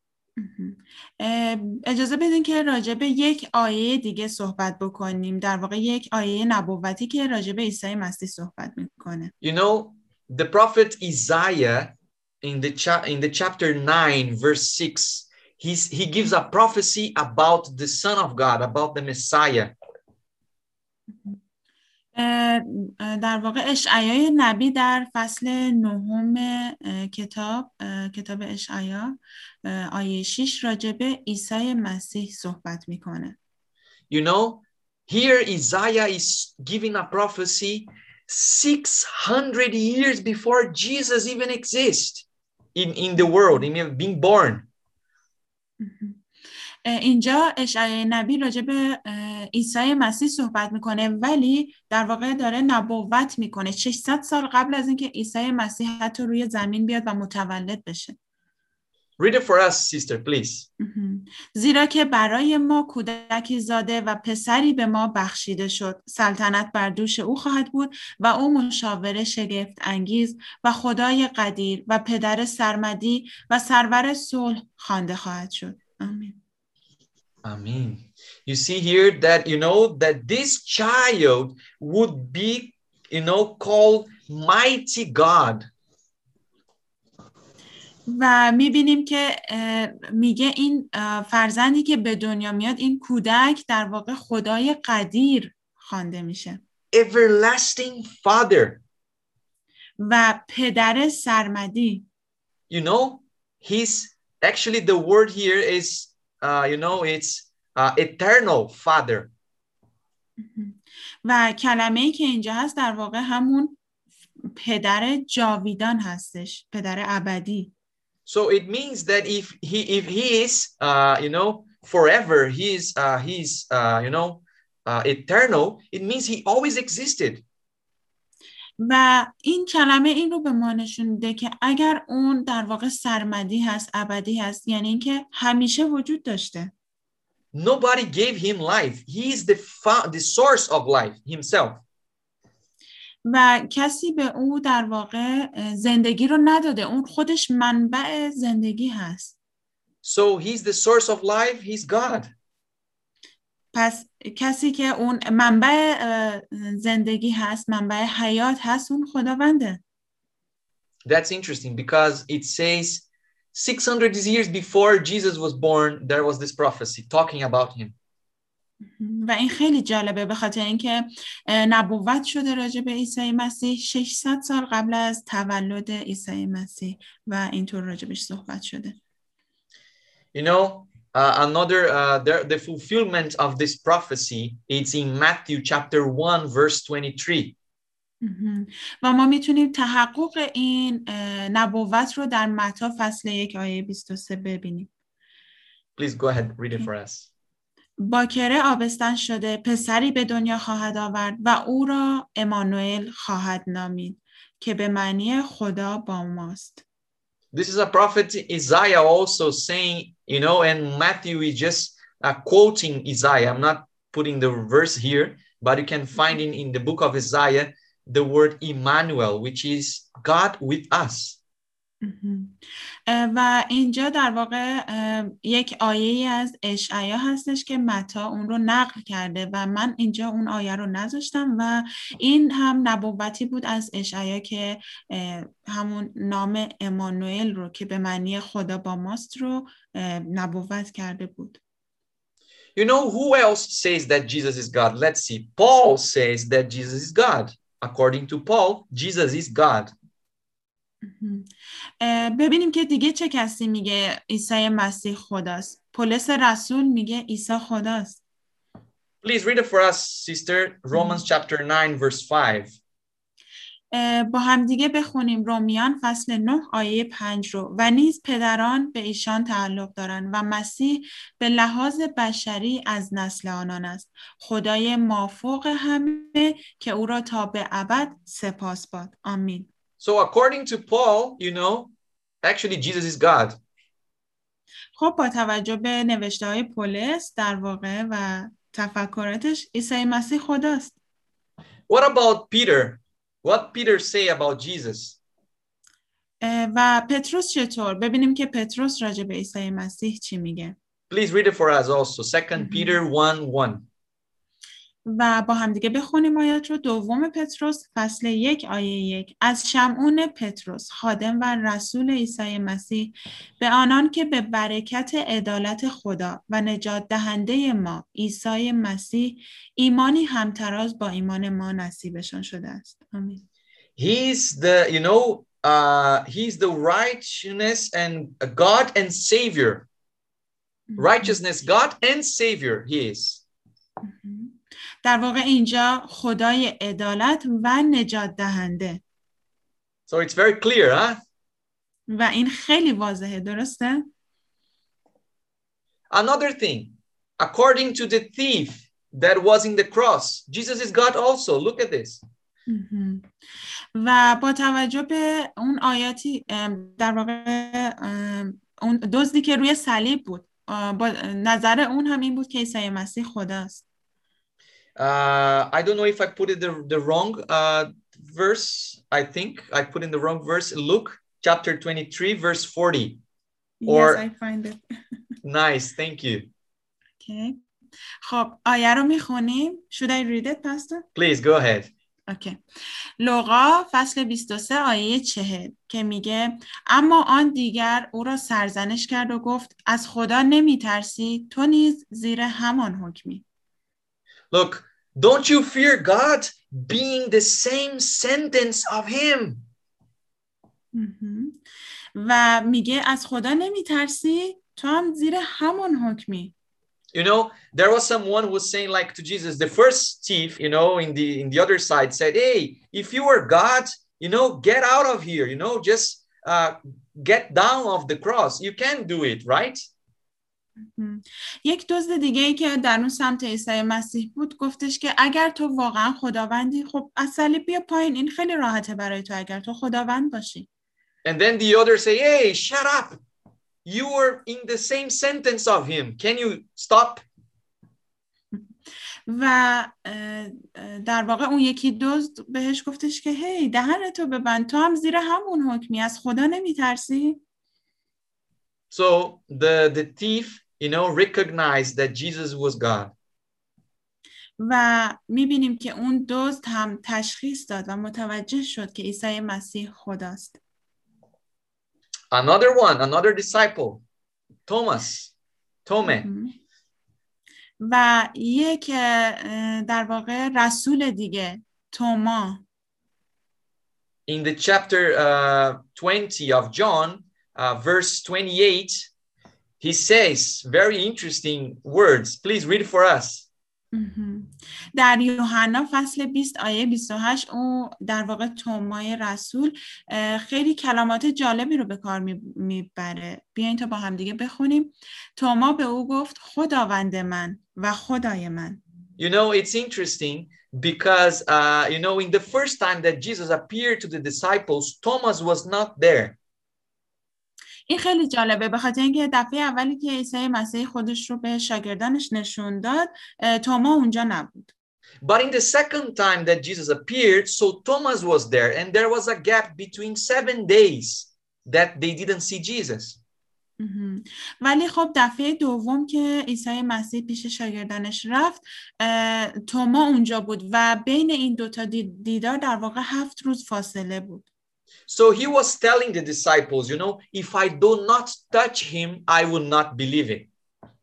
اجازه بدین که راجع به یک آیه دیگه صحبت بکنیم، در واقع یک آیه نبوتی که راجع به عیسی مسیح صحبت میکنه. You know, the prophet Isaiah in the chapter 9 verse 6, he gives a prophecy about the Son of God, about the Messiah. در واقع اشعیا نبی در فصل 9 کتاب اشعیا آیه 6 راجع به عیسی مسیح صحبت میکنه. You know, here Isaiah is giving a prophecy 600 years before Jesus even exists in the world, in being born. اینجا اشعیا نبی راجع به عیسی مسیح صحبت میکنه، ولی در واقع داره نبوت میکنه 600 سال قبل از اینکه عیسی مسیح حتی روی زمین بیاد و متولد بشه. Read it for us, sister, please. زیرا که برای ما کودکی زاده و پسری به ما بخشیده شد، سلطنت بر دوش او خواهد بود و او مشاور شگفت انگیز و خدای قدیر و پدر سرمدی و سرور صلح خوانده خواهد شد. آمین. Amen. You see here that, that this child would be, called mighty God. و میبینیم که میگه این فرزندی که به دنیا میاد، این کودک در واقع خدای قدیر خوانده میشه. Everlasting Father. و پدر سرمدی. Actually the word here is, it's eternal Father. و kalame'i که اینجا هست در واقع همون پدر جاویدان هستش، پدر ابدی. So it means that if he is, forever, he's eternal, it means he always existed. و این کلمه این رو به ما نشون میده که اگر اون در واقع سرمدی هست، ابدی هست، یعنی اینکه همیشه وجود داشته. Nobody gave him life. He is the source of life himself. و کسی به او در واقع زندگی رو نداده، اون خودش منبع زندگی هست. So he's the source of life, he's God. پس کسی که اون منبع زندگی هست، منبع حیات هست، اون خداونده. That's interesting because it says 600 years before Jesus was born, there was this prophecy talking about him. و این خیلی جالبه به خاطر اینکه نبوت شده راجع به عیسی مسیح 600 سال قبل از تولد عیسی مسیح و اینطور راجبش صحبت شده. The fulfillment of this prophecy is in Matthew chapter 1 verse 23. و ما میتونیم تحقق این نبوت رو در متی فصل 1 آیه 23 ببینیم. Please go ahead, read it for us. باکره آبستن شده، پسری به دنیا خواهد آورد و او را امانوئل خواهد نامید که به معنی خدا با ماست. This is a prophet Isaiah also saying, and Matthew is just quoting Isaiah. I'm not putting the verse here, but you can find in the book of Isaiah the word Emmanuel, which is God with us. و اینجا در واقع یک آیه از اشعیا هستش که متی اون رو نقل کرده و من اینجا اون آیه رو نذاشتم و این هم نبوتی بود از اشعیا که همون نام امانوئل رو که به معنی خدا با ماست رو نبوت کرده بود. Who else says that Jesus is God? Let's see. Paul says that Jesus is God. According to Paul, Jesus is God. ببینیم که دیگه چه کسی میگه عیسی مسیح خداست. پولس رسول میگه عیسی خداست. Please read it for us, sister. Romans chapter 9 verse 5. با هم دیگه بخونیم رومیان فصل 9 آیه 5 رو. و نیز پدران به ایشان تعلق دارند و مسیح به لحاظ بشری از نسل آنان است. خدای مافوق همه که او را تا به ابد سپاس باد. آمین. So according to Paul, actually Jesus is God. خب با توجه به نوشته های پولس در واقع و تفکراتش عیسی مسیح خداست. What about Peter? What Peter say about Jesus? و پتروس چطور؟ ببینیم که پتروس راجع به عیسی مسیح چی میگه. Please read it for us also. 2 Peter 1:1. و با هم دیگه بخونیم آیات رو. دوم پتروس فصل 1 آیه 1. از شمعون پتروس خادم و رسول عیسی مسیح به آنان که به برکت عدالت خدا و نجات دهنده ما عیسی مسیح ایمانی همتراز با ایمان ما نصیبشان شده است. آمین. He's the righteousness and God and Savior. Righteousness, God and Savior, he is. در واقع اینجا خدای عدالت و نجات دهنده. So it's very clear, huh? و این خیلی واضحه، درسته؟ Another thing, according to the thief that was in the cross, Jesus is God also. Look at this. و با توجه به اون آیاتی در واقع اون دزدی که روی صلیب بود، با نظر اون هم این بود که عیسی مسیح خداست. I don't know if I put it the wrong verse. I think I put in the wrong verse. Luke chapter 23 verse 40. Yes, I find it. Nice, thank you. Okay. خب آیه رو میخونیم. Should I read it, Pastor? Please go ahead. Okay. لوقا فصل 23 آیه 40 که میگه اما آن دیگر او را سرزنش کرد و گفت از خدا نمیترسی؟ تو نیز زیر همان حکمی. Look, don't you fear God being the same sentence of him? و میگه از خدا نمیترسی؟ تو هم زیر همان حکمی. You know, there was someone who was saying like to Jesus, the first thief, you know, in the other side said, hey, if you were God, you know, get out of here, you know, just get down off the cross. You can't do it, right? یک دزد دیگه ای که در اون سمت عیسی مسیح بود گفتش که اگر تو واقعا خداوندی، خب از صلیب بیا پایین، این خیلی راحته برای تو اگر تو خداوند باشی. And then the other say, hey, shut up. You were in the same sentence of him. Can you stop? و در واقع اون یکی دزد بهش گفتش که هی دهنتو ببند، تو هم زیر همون حکمی، از خدا نمیترسی؟ So the thief, you know, recognized that Jesus was God. و میبینیم که اون دزد هم تشخیص داد و متوجه شد که عیسی مسیح خداست. Another disciple, Thomas. و یک در واقع رسول دیگه، توما. In the chapter 20 of John, verse 28, he says very interesting words. Please read it for us. در یوحنا فصل 20 آیه 28 او در واقع تومای رسول خیلی کلمات جالبی رو به کار میبره. بیاین تا با هم دیگه بخونیم. توما به او گفت خداوند من و خدای من. You know, it's interesting because, you know, in the first time that Jesus appeared to the disciples, Thomas was not there. این خیلی جالبه به خاطر اینکه دفعه اولی که عیسی مسیح خودش رو به شاگردانش نشون داد توما اونجا نبود. But in the second time that Jesus appeared, so Thomas was there and there was a gap between 7 days that they didn't see Jesus. ولی خب دفعه دوم که عیسی مسیح پیش شاگردانش رفت توما اونجا بود و بین این دوتا دیدار در واقع 7 روز فاصله بود. So he was telling the disciples, you know, if I do not touch him, I will not believe it.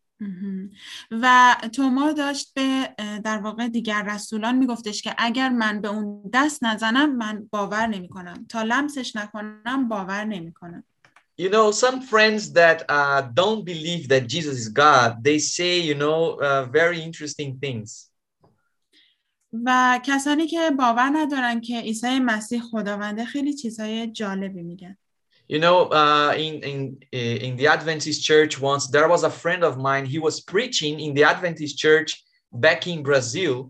و توما داشت به در واقع دیگر رسولان میگفتش که اگر من به اون دست نزنم من باور نمی کنم، تا لمسش نکنم باور نمی کنم. You know, some friends that don't believe that Jesus is God, they say, you know, very interesting things. و کسانی که باور ندارن که عیسی مسیح خداونده خیلی چیزهای جالبی میگن. You know, in the Adventist church once, there was a friend of mine, he was preaching in the Adventist church back in Brazil.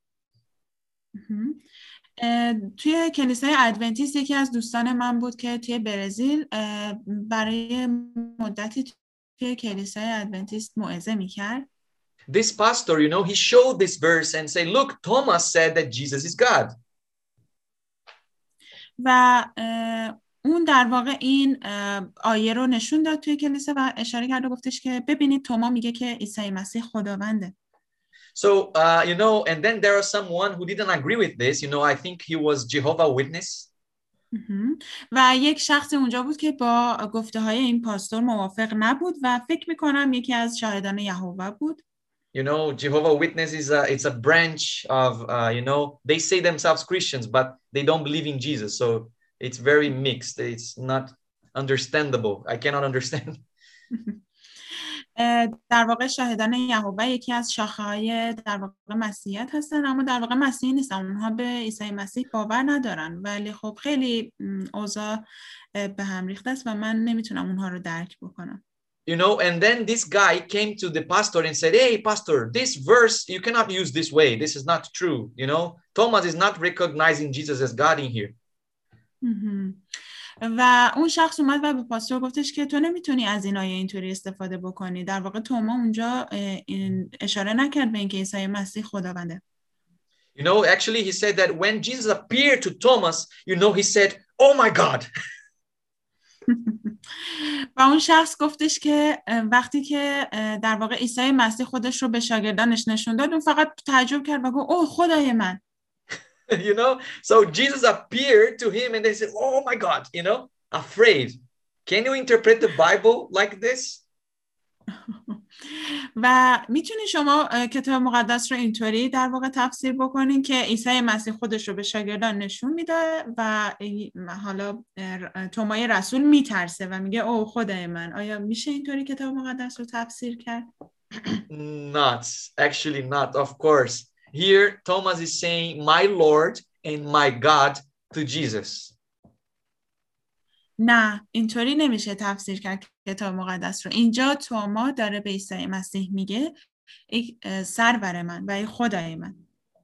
توی کلیسای ادونتیست یکی از دوستان من بود که توی برزیل برای مدتی توی کلیسای ادونتیست موعظه میکرد. This pastor, you know, he showed this verse and say, look, Thomas said that Jesus is God. و اون در واقع این آیه رو نشون داد توی کلیسا و اشاره کرد و گفتش که ببینید توما میگه که عیسی مسیح خداونده. So, you know, and then there are someone who didn't agree with this. You know, I think he was Jehovah's Witness. و یک شخص اونجا بود که با گفته های این پاستور موافق نبود و فکر میکنم یکی از شاهدان یهوه بود. You know, Jehovah's Witness it's a branch of, you know, they say themselves Christians, but they don't believe in Jesus. So it's very mixed. It's not understandable. I cannot understand. در واقع شاهدان یهوه یکی از شاخه‌های در واقع مسیحیت هستن، اما در واقع مسیحی نیستن. اونها به عیسی مسیح باور ندارن، ولی خب خیلی اوضاع به هم ریخته است و من نمیتونم اونها رو درک بکنم. You know, and then this guy came to the pastor and said, "Hey, pastor, this verse, you cannot use this way. This is not true. You know, Thomas is not recognizing Jesus as God in here." و اون شخص اومد و به پاستور گفتش که تو نمیتونی از این آیه اینطوری استفاده بکنی. در واقع توما اونجا اشاره نکرد به اینکه عیسی مسیح خداونده. You know, actually he said that when Jesus appeared to Thomas, you know, he said, "Oh my God." و اون شخص گفتش که وقتی که در واقع عیسی مسیح خودش رو به شاگردانش نشون داد، اون فقط تعجب کرد و گفت اوه خدای من. You know, so Jesus appeared to him and they said, "Oh my God," you know, afraid. Can you interpret the Bible like this? و میتونی شما کتاب مقدس رو اینطوری در واقع تفسیر بکنین که عیسی مسیح خودش رو به شاگردان نشون میده و حالا تومای رسول میترسه و میگه اوه خدای من. آیا میشه اینطوری کتاب مقدس رو تفسیر کرد؟ Not, actually not, of course. Here, Thomas is saying, "My Lord and my God," to Jesus. نه، اینطوری نمیشه تفسیر کرد کتاب مقدس رو. اینجا توما داره به عیسی مسیح میگه ای سرور من و ای خدای من.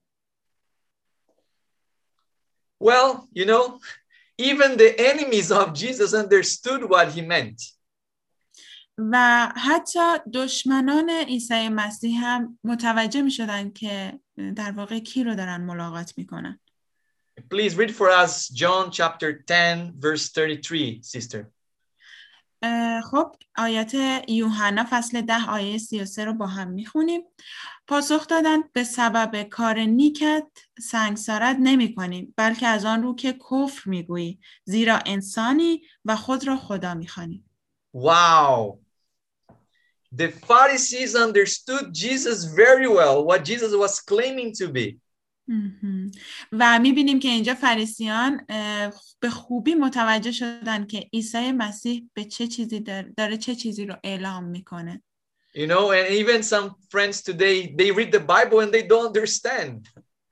Well, you know, even the enemies of Jesus understood what he meant. و حتی دشمنان عیسی مسیح هم متوجه می شدن که در واقع کی رو دارن ملاقات می کنن. Please read for us John chapter 10 verse 33, sister. خب آیات یوحنا فصل 10 آیه 33 رو با هم می خونیم. پاسخ دادند به سبب کار نیکت سنگسارت نمی کنیم، بلکه از آن رو که کفر می گویی، زیرا انسانی و خود را خدا می خوانی. Wow. The Pharisees understood Jesus very well, what Jesus was claiming to be. و میبینیم که اینجا فریسیان به خوبی متوجه شدن که عیسی مسیح به چه چیزی داره چه چیزی رو اعلام میکنه. You know, and even some friends today, they read the Bible and they don't understand.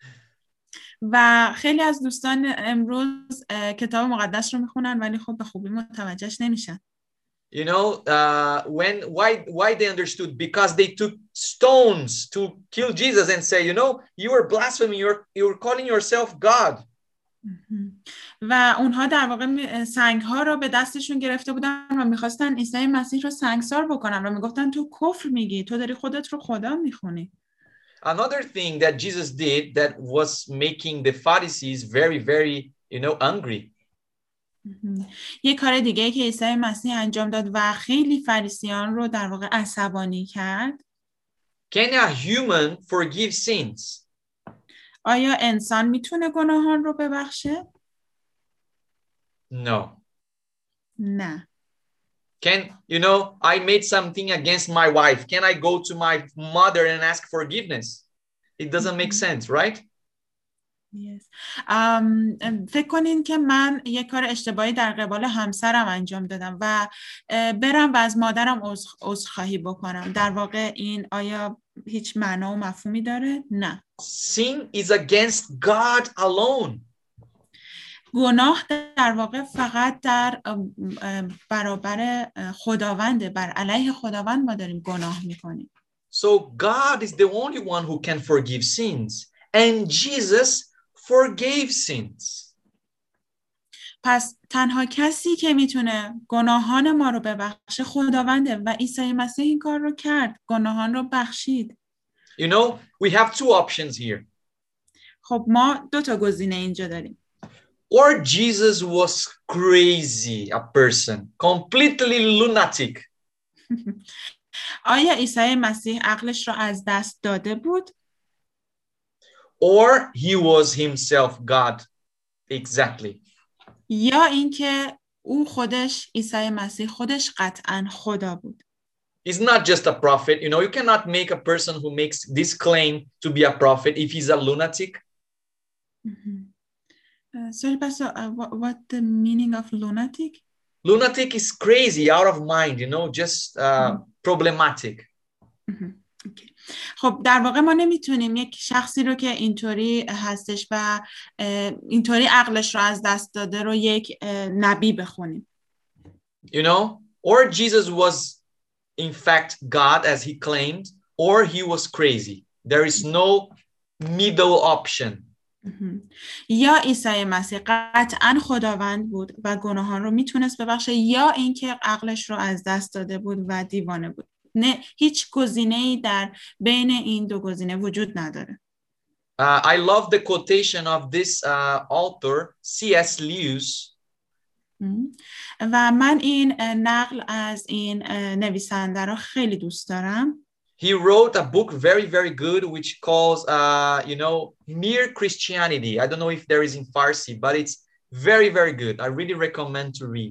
و خیلی از دوستان امروز کتاب مقدس رو میخونن ولی خب به خوبی متوجهش نمیشن. You know, why they understood? Because they took stones to kill Jesus and say, you know, you are blaspheming, you're calling yourself God. و اونها در واقع سنگ‌ها رو به دستشون گرفته بودن و می‌خواستن عیسی مسیح رو سنگسار بکنن و میگفتن تو کفر میگی، تو داری خودت رو خدا میخونی. Another thing that Jesus did that was making the Pharisees very, very, you know, angry. یه کار دیگه که عیسی مسیح انجام داد و خیلی فریسیان رو در واقع عصبانی کرد. Can a human forgive sins? آیا انسان میتونه گناهان رو ببخشه؟ No. نه. Can, you know, I made something against my wife. Can I go to my mother and ask forgiveness? It doesn't make sense, right? Yes. فکر کنین که من یک کار اشتباهی در قبال همسرم انجام دادم و برم و از مادرم عذرخواهی بکنم. در واقع این آیا هیچ معنا و مفهومی داره؟ نه. Sin is against God alone. گناه در واقع فقط در برابر خداونده، بر علیه خداوند ما داریم گناه میکنیم. So God is the only one who can forgive sins, and Jesus forgave sins. پس تنها کسی که میتونه گناهان ما رو ببخشه خداونده و عیسی مسیح این کار رو کرد، گناهان رو بخشید. You know, we have two options here. خب ما دو تا گزینه اینجا داریم. Or Jesus was crazy, a person, completely lunatic. آیا عیسی مسیح عقلش رو از دست داده بود؟ or he was himself God. Exactly. یا اینکه او خودش عیسی مسیح خودش قطعاً خدا بود. He's not just a prophet. You know, you cannot make a person who makes this claim to be a prophet if he's a lunatic. Sorry, Pastor, what the meaning of lunatic? Lunatic is crazy, out of mind, you know, just problematic. Okay. خب در واقع ما نمیتونیم یک شخصی رو که اینطوری هستش و اینطوری عقلش رو از دست داده رو یک نبی بخونیم. You know, or Jesus was in fact God as he claimed, or he was crazy. There is no middle option. یا عیسی مسیح قطعاً خداوند بود و گناهان رو میتونست ببخشه، یا اینکه عقلش رو از دست داده بود و دیوانه بود. نه، هیچ گزینه‌ای در بین این دو گزینه وجود نداره. I love the quotation of this author, C.S. Lewis. و من این نقل از این نویسنده رو خیلی دوست دارم. He wrote a book very, very good, which calls, you know, Mere Christianity. I don't know if there is in Farsi, but it's very, very good. I really recommend to read.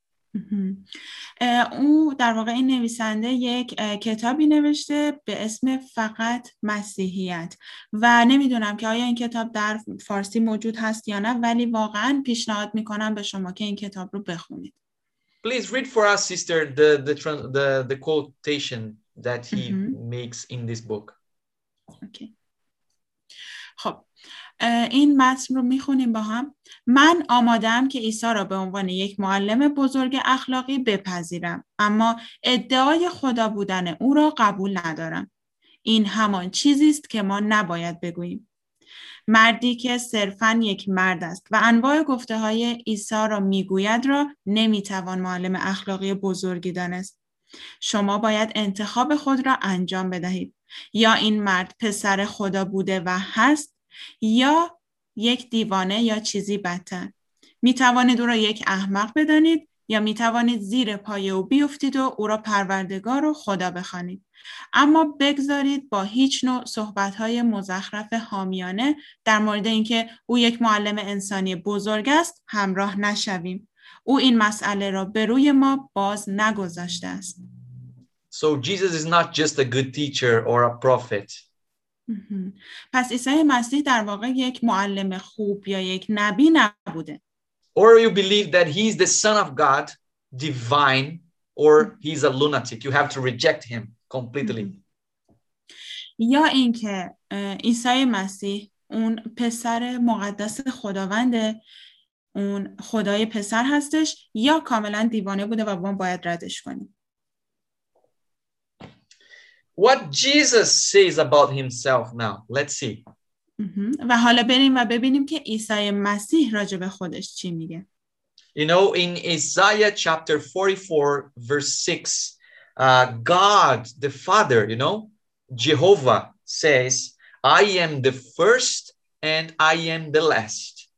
او در واقع این نویسنده یک کتابی نوشته به اسم فقط مسیحیت و نمیدونم که آیا این کتاب در فارسی موجود هست یا نه، ولی واقعا پیشنهاد میکنم به شما که این کتاب رو بخونید. Please read for us, sister, the quotation that he makes in this book. Okay. خب این متن رو میخونیم با هم. من آمادم که عیسی را به عنوان یک معلم بزرگ اخلاقی بپذیرم، اما ادعای خدا بودن او را قبول ندارم. این همان چیزی است که ما نباید بگوییم. مردی که صرفاً یک مرد است و انواع گفته های عیسی را میگوید را نمیتوان معلم اخلاقی بزرگی دانست. شما باید انتخاب خود را انجام بدهید. یا این مرد پسر خدا بوده و هست، یا یک دیوانه یا چیزی بدتر. می توانید او را یک احمق بدانید، یا می توانید زیر پای او بیفتید و او را پروردگار و خدا بخوانید. اما بگذارید با هیچ نوع صحبت‌های مزخرف حامیانه در مورد اینکه او یک معلم انسانی بزرگ است همراه نشویم. او این مسئله را به روی ما باز نگذاشته است. So Jesus is not just a good teacher or a prophet. پس عیسی مسیح در واقع یک معلم خوب یا یک نبی نبوده. Or you believe that he is the son of God, divine, or he's a lunatic. You have to reject him completely. یا اینکه عیسی مسیح اون پسر مقدس خداونده، اون خدای پسر هستش، یا کاملا دیوانه بوده و ما باید ردش کنیم. What Jesus says about himself now. Let's see. و حالا بریم و ببینیم که عیسی مسیح راجع به خودش چی میگه. You know, in Isaiah chapter 44, verse 6, God, the Father, you know, Jehovah says, I am the first and I am the last.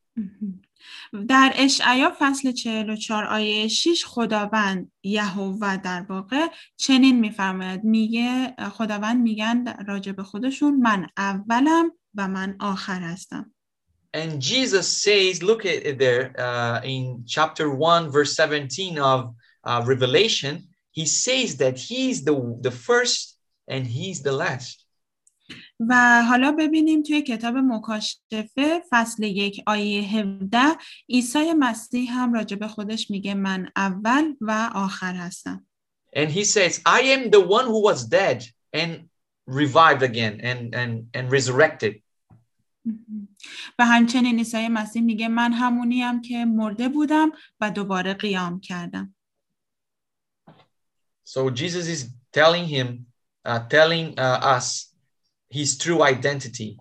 در اشعیا فصل 44 آیه 6 خداوند یهوه در واقع چنین میفرماید، میگه خداوند میگن راجع به خودشون من اولم و من آخر هستم. And Jesus says, look at it there in chapter 1 verse 17 of Revelation, he says that he is the first and he is the last. و حالا ببینیم توی کتاب مکاشفه فصل 1 آیه 17 عیسی مسیح هم راجع به خودش میگه من اول و آخر هستم. And he says, I am the one who was dead and revived again and resurrected. و همچنین عیسی مسیح میگه من همونیم که مرده بودم و دوباره قیام کردم. So Jesus is telling us his true identity.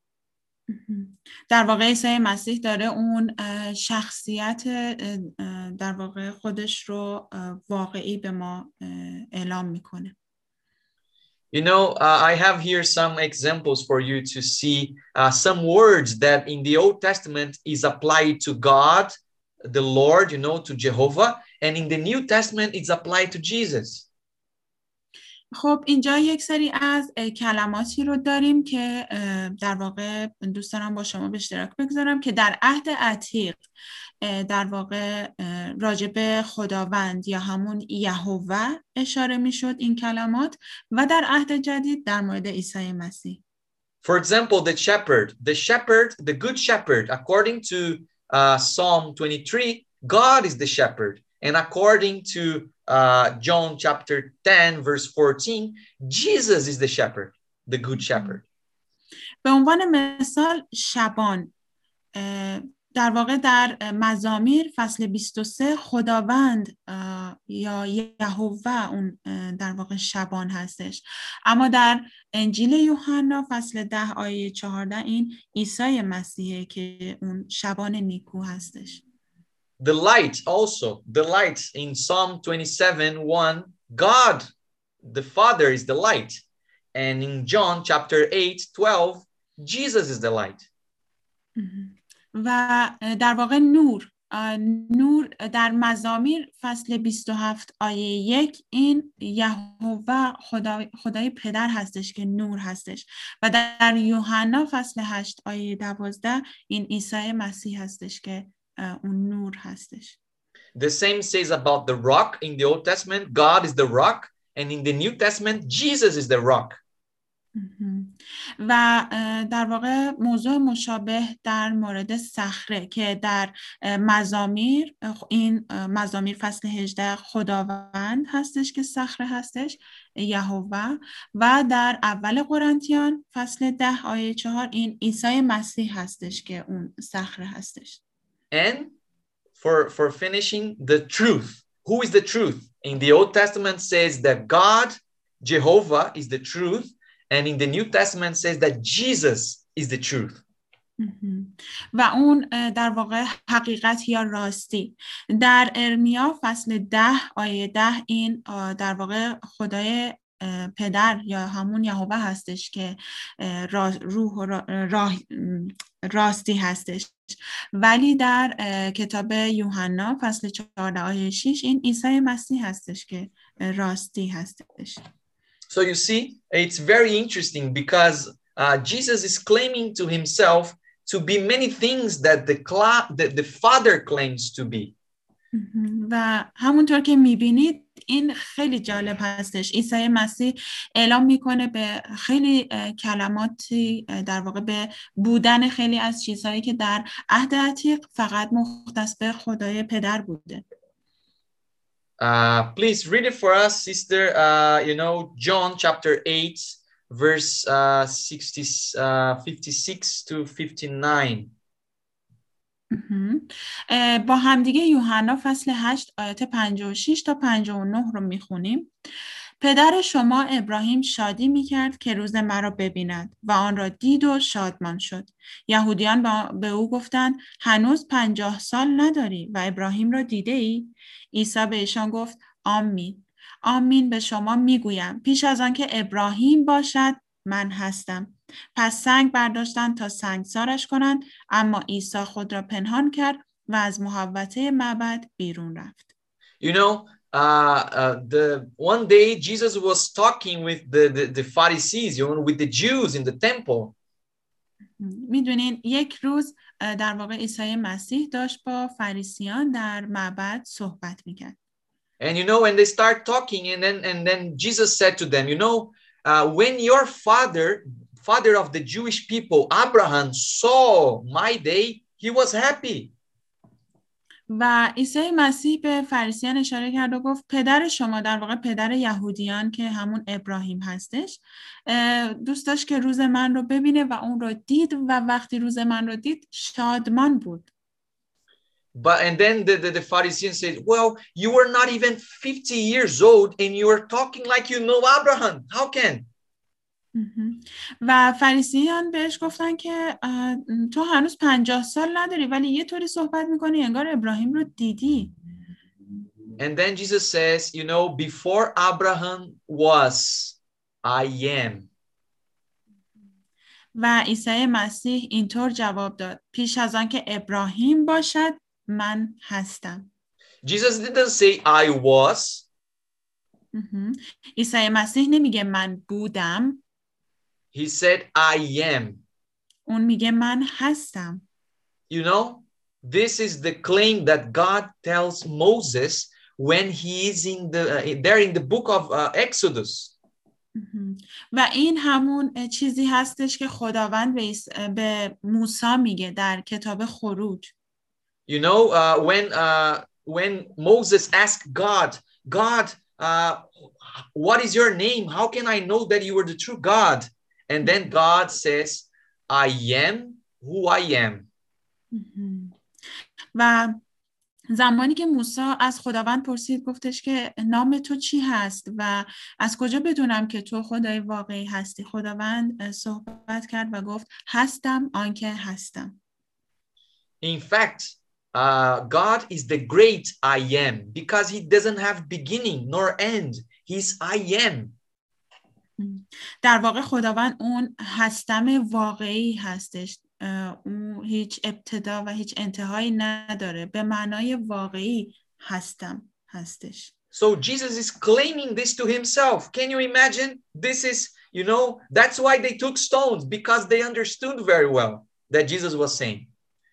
در واقع عیسی مسیح داره اون شخصیت در واقع خودش رو واقعی به ما اعلام میکنه. You know, I have here some examples for you to see some words that in the Old Testament is applied to God, the Lord, you know, to Jehovah, and in the New Testament it's applied to Jesus. خب اینجا یک سری از کلماتی رو داریم که در واقع دوست دارم با شما به اشتراک بگذارم که در عهد عتیق در واقع راجب خداوند یا همون یهوه اشاره میشد این کلمات و در عهد جدید در مورد عیسی مسیح. For example, the good shepherd, according to Psalm 23, God is the shepherd. And according to John chapter 10, verse 14, Jesus is the shepherd, the good shepherd. به عنوان مثال شبان در واقع در مزامیر فصل 23 خداوند یا یهوه اون در واقع شبان هستش، اما در انجیل یوحنا فصل 10 آیه 14 این عیسی مسیحه که اون شبان نیکو هستش. The light in Psalm 27:1, God the Father is the light, and in John chapter 8:12, Jesus is the light. و در واقع نور در مزامیر فصل 27 آیه 1 این یهوه خدای پدر هستش که نور هستش و در یوحنا فصل 8 آیه 12 این عیسی مسیح هستش که اون نور هستش. The same says about the rock in the Old Testament. God is the rock, and in the New Testament, Jesus is the rock. و در واقع موضوع مشابه در مورد صخره که در مزامیر این مزامیر فصل 18 خداوند هستش که صخره هستش یهوه و در اول قرنتیان فصل 10 آیه 4 این عیسی مسیح هستش که اون صخره هستش. And for finishing, the truth. Who is the truth? In the Old Testament says that God, Jehovah, is the truth. And in the New Testament says that Jesus is the truth. و اون در واقع حقیقت یا راستی. در ارمیا فصل 10 آیه 10 این در واقع خدای پدر یا همون یهوه هستش که روح و راستی هستش. ولی در کتاب یوحنا فصل 14 آیه 6 این عیسی مسیح هستش که راستی هستش. So you see, it's very interesting because Jesus is claiming to himself to be many things that the Father claims to be. و همونطور که میبینید این خیلی جالب هستش. عیسی مسیح اعلام میکنه به خیلی کلماتی در واقع به بودن خیلی از چیزهایی که در عهد عتیق فقط مختص به خدای پدر بوده. Please read it for us, sister. John chapter 8, verse 56 to 59. با همدیگه یوحنا فصل 8 آیات 56 تا 59 رو میخونیم. پدر شما ابراهیم شادی میکرد که روز مرا ببیند و آن را دید و شادمان شد. یهودیان به او گفتند هنوز 50 سال نداری و ابراهیم را دیده ای؟ عیسی به ایشان گفت آمین آمین به شما میگویم پیش از آن که ابراهیم باشد من هستم. پس سنگ برداشتند تا سنگسارش کنند، اما عیسی خود را پنهان کرد و از محوطه معبد بیرون رفت. You know, the one day Jesus was talking with the Pharisees, with the Jews in the temple. میدونین یک روز در واقع عیسی مسیح داشت با فریسیان در معبد صحبت میکرد. And when they start talking and then Jesus said to them, when your father of the Jewish people, Abraham, saw my day, he was happy. و عیسی مسیح به فریسیان اشاره کرد و گفت پدر شما در واقع پدر یهودیان که همون ابراهیم هستش دوست داشت که روز من رو ببینه و اون رو دید و وقتی روز من رو دید شادمان بود. And then the Pharisees said, well, you were not even 50 years old and you were talking like you know Abraham. How can? و فریسیان بهش گفتن که تو هنوز 50 سال نداری ولی یه طوری صحبت میکنی انگار ابراهیم رو دیدی. And then Jesus says, before Abraham was, I am. و عیسی مسیح اینطور جواب داد پیش از آن که ابراهیم باشد من هستم. Jesus didn't say I was. عیسی مسیح نمیگه من بودم. He said, I am. اون میگه من هستم. You know, this is the claim that God tells Moses when he is there in the book of Exodus. و این همون چیزی هستش که خداوند به موسی میگه در کتاب خروج. You know, when Moses asked God, what is your name? How can I know that you are the true God? And then God says, I am who I am. و زمانی که موسی از خداوند پرسید گفتش که نام تو چی هست و از کجا بدونم که تو خدای واقعی هستی؟ خداوند صحبت کرد و گفت هستم آنکه هستم. In fact, God is the great I am because he doesn't have beginning nor end. He's I am. در واقع خداوند اون هستم واقعی هستش. اون هیچ ابتدا و هیچ انتهایی نداره. به معنای واقعی هستم هستش. So Jesus is claiming this to himself. Can you imagine? This is, you know, that's why they took stones, because they understood very well that Jesus was saying.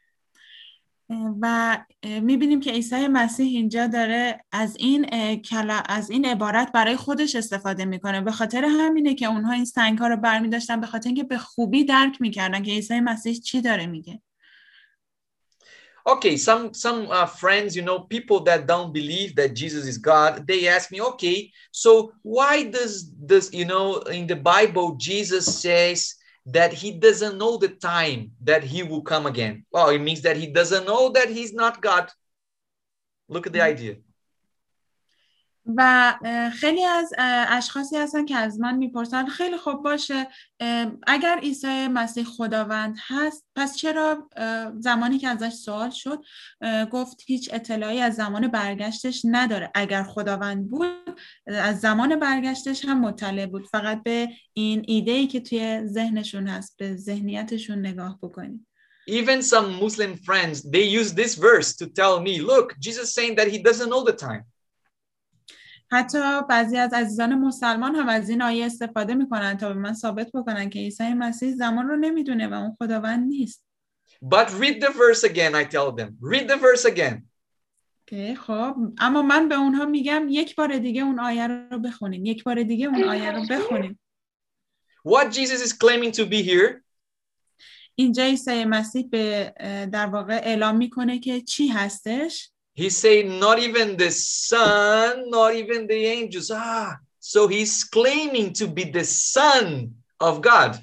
و میبینیم که عیسی مسیح اینجا داره از این عبارت برای خودش استفاده میکنه. به خاطر همینه که اونها این سنگ‌ها رو برمی داشتن، به خاطر اینکه به خوبی درک میکردن که عیسی مسیح چی داره میگه. Okay, some friends, you know, people that don't believe that Jesus is God, they ask me, okay, so why does you know, in the Bible, Jesus says that he doesn't know the time that he will come again? Well, it means that he doesn't know that he's not God. Look at the idea. و خیلی از اشخاصی هستن که از من میپرسن خیلی خوب باشه، اگر عیسی مسیح خداوند هست پس چرا زمانی که ازش سوال شد گفت هیچ اطلاعی از زمان برگشتش نداره؟ اگر خداوند بود از زمان برگشتش هم مطلع بود. فقط به این ایده‌ای که توی ذهنشون هست، به ذهنیتشون نگاه بکنید. Even some Muslim friends, they use this verse to tell me, look, Jesus saying that he doesn't know the time. حتی بعضی از عزیزان مسلمان هم از این آیه استفاده میکنن تا به من ثابت بکنن که عیسی مسیح زمان رو نمیدونه و اون خداوند نیست. But read the verse again, I tell them. Read the verse again. خب اما من به اونها میگم یک بار دیگه اون آیه رو بخونیم. یک بار دیگه اون آیه رو بخونیم. What Jesus is claiming to be here? اینجا عیسی مسیح به در واقع اعلام میکنه که چی هستش؟ He's saying not even the son, not even the angels. So he's claiming to be the son of God.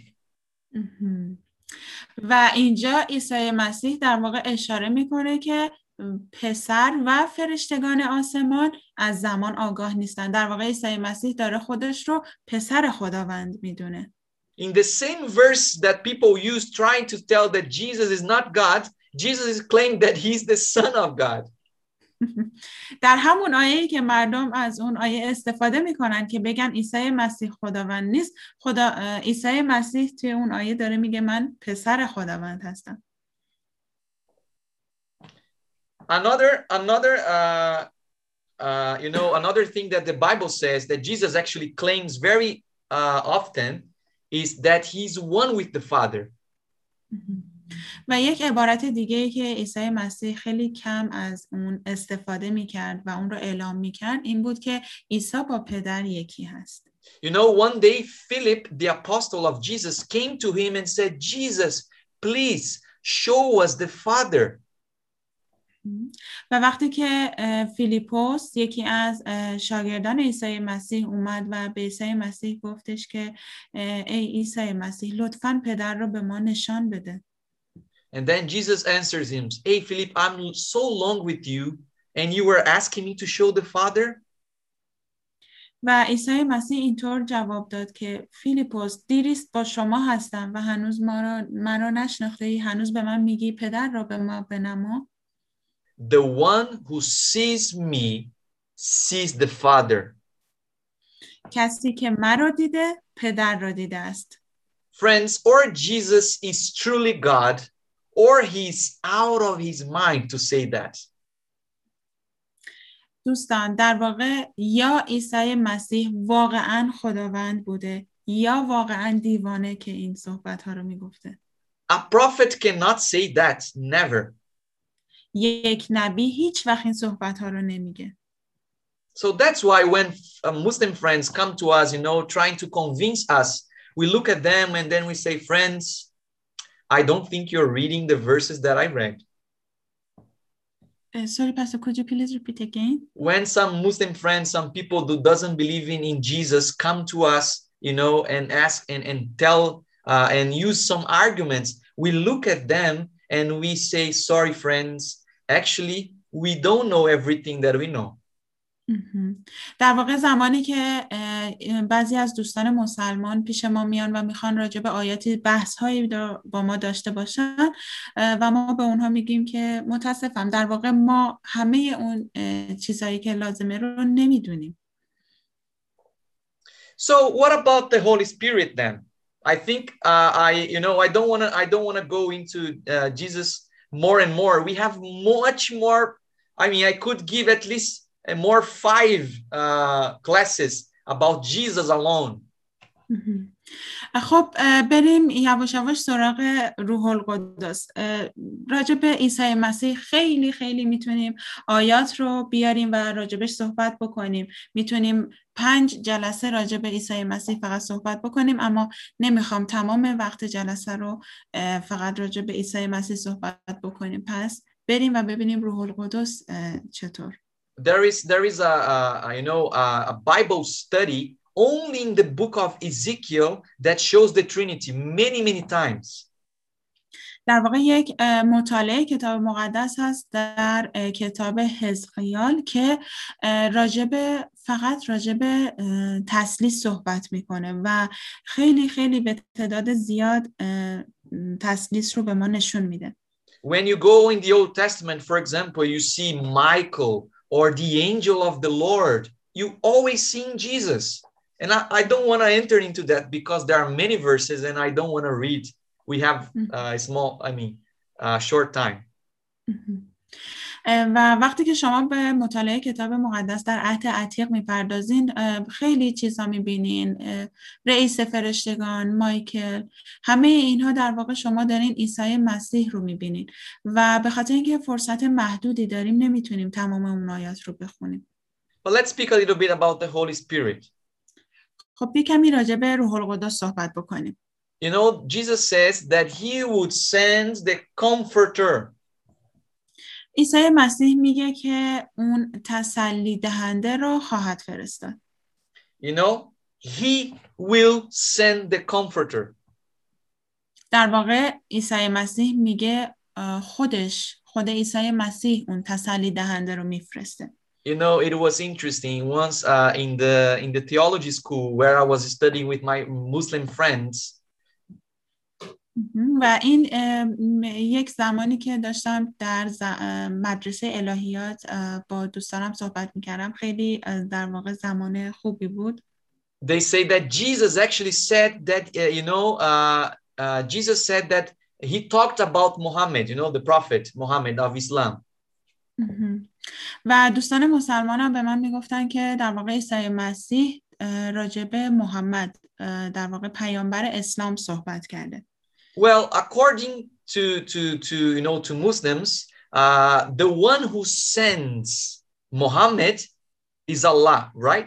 و اینجا عیسی مسیح در واقع اشاره میکنه که پسر و فرشتگان آسمان از زمان آگاه نیستن. در واقع عیسی مسیح داره خودش رو پسر خداوند میدونه. In the same verse that people use trying to tell that Jesus is not God, Jesus is claiming that he's the son of God. در همون آیه‌ای که مردم از اون آیه استفاده میکنن که بگن عیسی مسیح خداوند نیست، عیسی مسیح توی اون آیه داره میگه من پسر خداوند هستم. Another you know, another thing that the Bible says that Jesus actually claims very often is that he's one with the Father. و یک عبارت دیگه که عیسی مسیح خیلی کم از اون استفاده میکرد و اون رو اعلام میکرد این بود که عیسی با پدر یکی هست. You know, one day Philip, the apostle of Jesus, came to him and said, Jesus, please show us the Father. و وقتی که فیلیپوس یکی از شاگردان عیسی مسیح اومد و به عیسی مسیح گفتش که ای عیسی مسیح لطفاً پدر رو به ما نشان بده. And then Jesus answers him, hey Philip, I'm so long with you and you were asking me to show the Father. و عیسی مسیح اینطور جواب داد که فیلیپوس دیریست با شما هستم و هنوز مرا نشناختی، هنوز به من میگی پدر را به ما بنما. The one who sees me sees the Father. کسی که مرا دیده پدر را دیده است. Friends, or Jesus is truly God or he's out of his mind to say that. دوستان در واقع یا عیسی مسیح واقعا خداوند بوده یا واقعا دیوانه که این صحبت ها رو میگفته. A prophet cannot say that, never. یک نبی هیچ وقت این صحبت ها رو نمیگه. So that's why when Muslim friends come to us, trying to convince us, we look at them and then we say, friends, I don't think you're reading the verses that I read. Sorry, Pastor, could you please repeat again? When some Muslim friends, some people who doesn't believe in Jesus come to us, and ask and tell and use some arguments, we look at them and we say, sorry, friends, actually, we don't know everything that we know. در واقع زمانی که بعضی از دوستان مسلمان پیش ما میان و میخوان راجع به آیاتی بحث هایی با ما داشته باشن و ما به اونها میگیم که متاسفم در واقع ما همه اون چیزهایی که لازمه رو نمیدونیم. So what about the Holy Spirit then? I think I don't want to go into Jesus more and more. We have much more. I mean, I could give at least more 5 classes about Jesus alone. خب بریم یواش یواش سراغ روح القدس. راجع به عیسی مسیح خیلی خیلی میتونیم آیات رو بیاریم و راجبش صحبت بکنیم. میتونیم 5 جلسه راجع به عیسی مسیح فقط صحبت بکنیم، اما نمیخوام تمام وقت جلسه رو فقط راجع به عیسی مسیح صحبت بکنیم. پس بریم و ببینیم روح القدس چطور. There is a Bible study only in the book of Ezekiel that shows the Trinity many times. در واقع یک مطالعه کتاب مقدس هست در کتاب حزقیال که فقط راجب تثلیث صحبت میکنه و خیلی خیلی به تعداد زیاد تثلیث رو به ما نشون میده. When you go in the Old Testament, for example, you see Michael or the angel of the Lord, you always see Jesus. And I don't want to enter into that because there are many verses and I don't want to read. We have short time. و وقتی که شما به مطالعه کتاب مقدس در عهد عتیق میپردازین خیلی چیزا میبینین، رئیس فرشتگان، مایکل، همه اینها در واقع شما دارین عیسی مسیح رو میبینین و به خاطر اینکه فرصت محدودی داریم نمیتونیم تمام اون آیات رو بخونیم. But let's speak a little bit about the Holy Spirit. خب کمی راجع به روح القدس صحبت بکنیم. Jesus says that he would send the comforter. عیسی مسیح میگه که اون تسلی دهنده رو خواهد فرستاد. He will send the comforter. در واقع عیسی مسیح میگه خود عیسی مسیح اون تسلی دهنده رو میفرسته. It was interesting once in the theology school where I was studying with my Muslim friends. و این یک زمانی که داشتم در مدرسه الهیات با دوستانم صحبت میکردم خیلی در واقع زمان خوبی بود. They say that Jesus actually said that Jesus said that he talked about Muhammad, the prophet Muhammad of Islam. و دوستان مسلمانم به من میگفتن که در واقع عیسی مسیح راجع به محمد در واقع پیامبر اسلام صحبت کرده. Well, according to Muslims, the one who sends Muhammad is Allah, right?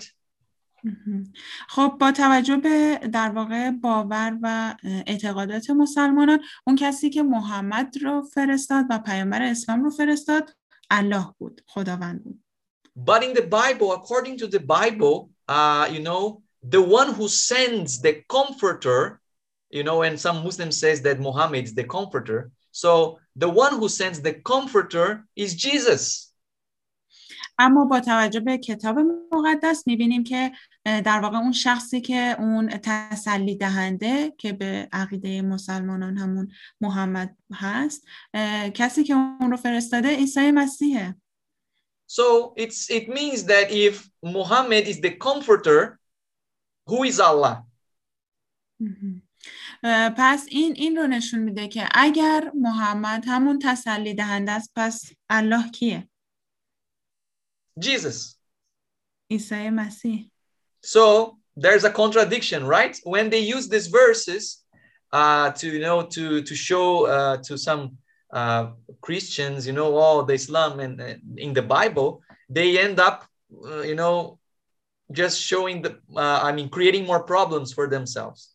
خب با توجه به در واقع باور و اعتقادات مسلمانان اون کسی که محمد رو فرستاد و پیامبر اسلام رو فرستاد الله بود، خداوند بود. But in the Bible, according to the Bible, the one who sends the comforter, and some Muslims says that Muhammad is the comforter. So the one who sends the comforter is Jesus. اما با توجه به کتاب مقدس میبینیم که در واقع اون شخصی که اون تسلی دهنده که به عقیده مسلمانان همون محمد هست، کسی که اون رو فرستاده عیسی مسیحه. So it means that if Muhammad is the comforter, who is Allah? پس این رو نشون میده که اگر محمد همون تسلی دهنده است پس الله کیه؟ Jesus. عیسی مسیح. So there's a contradiction, right? When they use these verses to show to some Christians, all the Islam and in the Bible, they end up, just showing creating more problems for themselves.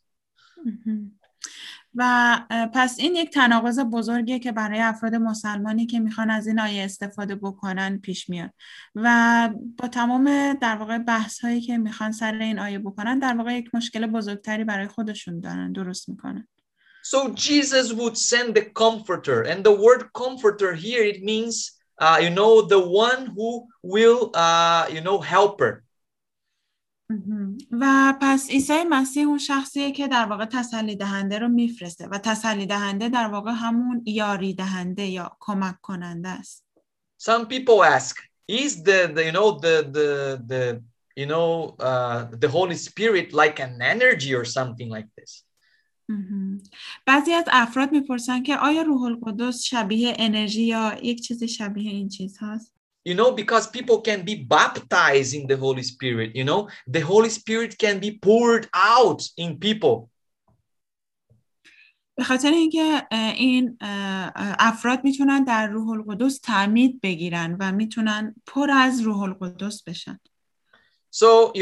و پس این یک تناقض بزرگیه که برای افراد مسلمانی که میخوان از این آیه استفاده بکنن پیش میاد و با تمام در واقع بحث هایی که میخوان سر این آیه بکنن در واقع یک مشکل بزرگتری برای خودشون دارن درست میکنن. So Jesus would send the comforter, and the word comforter here, it means the one who will helper. و پس عیسی مسیح اون شخصیه که در واقع تسلی دهنده رو میفرسته و تسلی دهنده در واقع همون یاری دهنده یا کمک کننده است. Some people ask, is the Holy Spirit like an energy or something like this? بعضی از افراد میپرسن که آیا روح القدس شبیه انرژی یا یک چیزی شبیه این چیز هست؟ Because people can be baptized in the Holy Spirit, the Holy Spirit can be poured out in people. به خاطر اینکه این افراد میتونن در روح القدس تعمید بگیرن و میتونن پر از روح القدس بشن. So,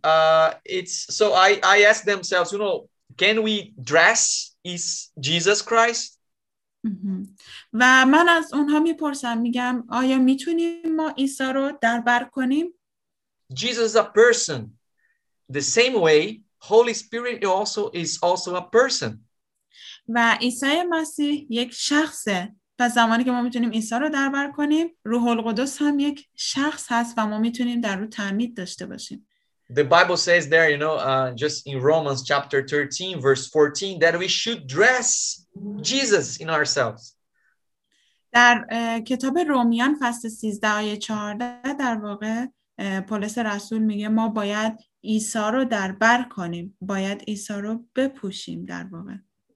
I ask themselves, can we dress is Jesus Christ? و من از اونها میپرسم میگم آیا میتونیم ما عیسی رو در بر کنیم؟ Jesus is a person. The same way Holy Spirit is also a person. و عیسی مسیح یک شخصه. پس زمانی که ما میتونیم عیسی رو در بر کنیم، روح القدس هم یک شخص هست و ما میتونیم در رو تعمید داشته باشیم. The Bible says there, just in Romans chapter 13, verse 14, that we should dress Jesus in ourselves. در کتاب رومیان فصل 13 آیه 14 در واقع پولس رسول میگه ما باید عیسی رو در بر کنیم، باید عیسی رو بپوشیم در واقع.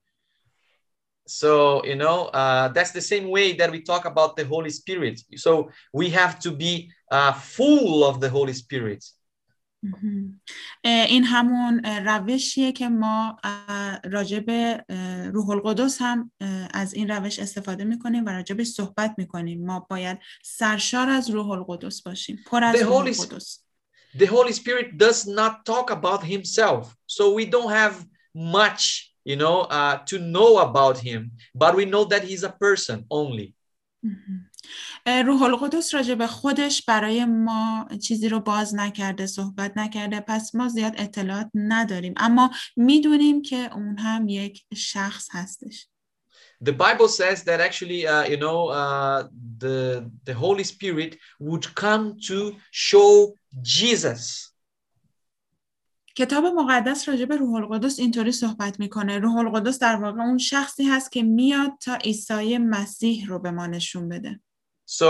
So, that's the same way that we talk about the Holy Spirit. So we have to be full of the Holy Spirit. این همون روشیه که ما راجع به روح القدس هم از این روش استفاده میکنیم و راجع به صحبت میکنیم. ما باید سرشار از روح القدس باشیم، پر از روح القدس. The Holy Spirit does not talk about himself. So we don't have much, to know about him, but we know that he's a person only. روح القدس راجع به خودش برای ما چیزی رو باز نکرده، صحبت نکرده، پس ما زیاد اطلاعات نداریم، اما میدونیم که اون هم یک شخص هستش. The Bible says that actually, the Holy Spirit would come to show Jesus. کتاب مقدس راجع به روح القدس اینطوری صحبت میکنه. روح القدس در واقع اون شخصی هست که میاد تا عیسی مسیح رو به ما نشون بده. So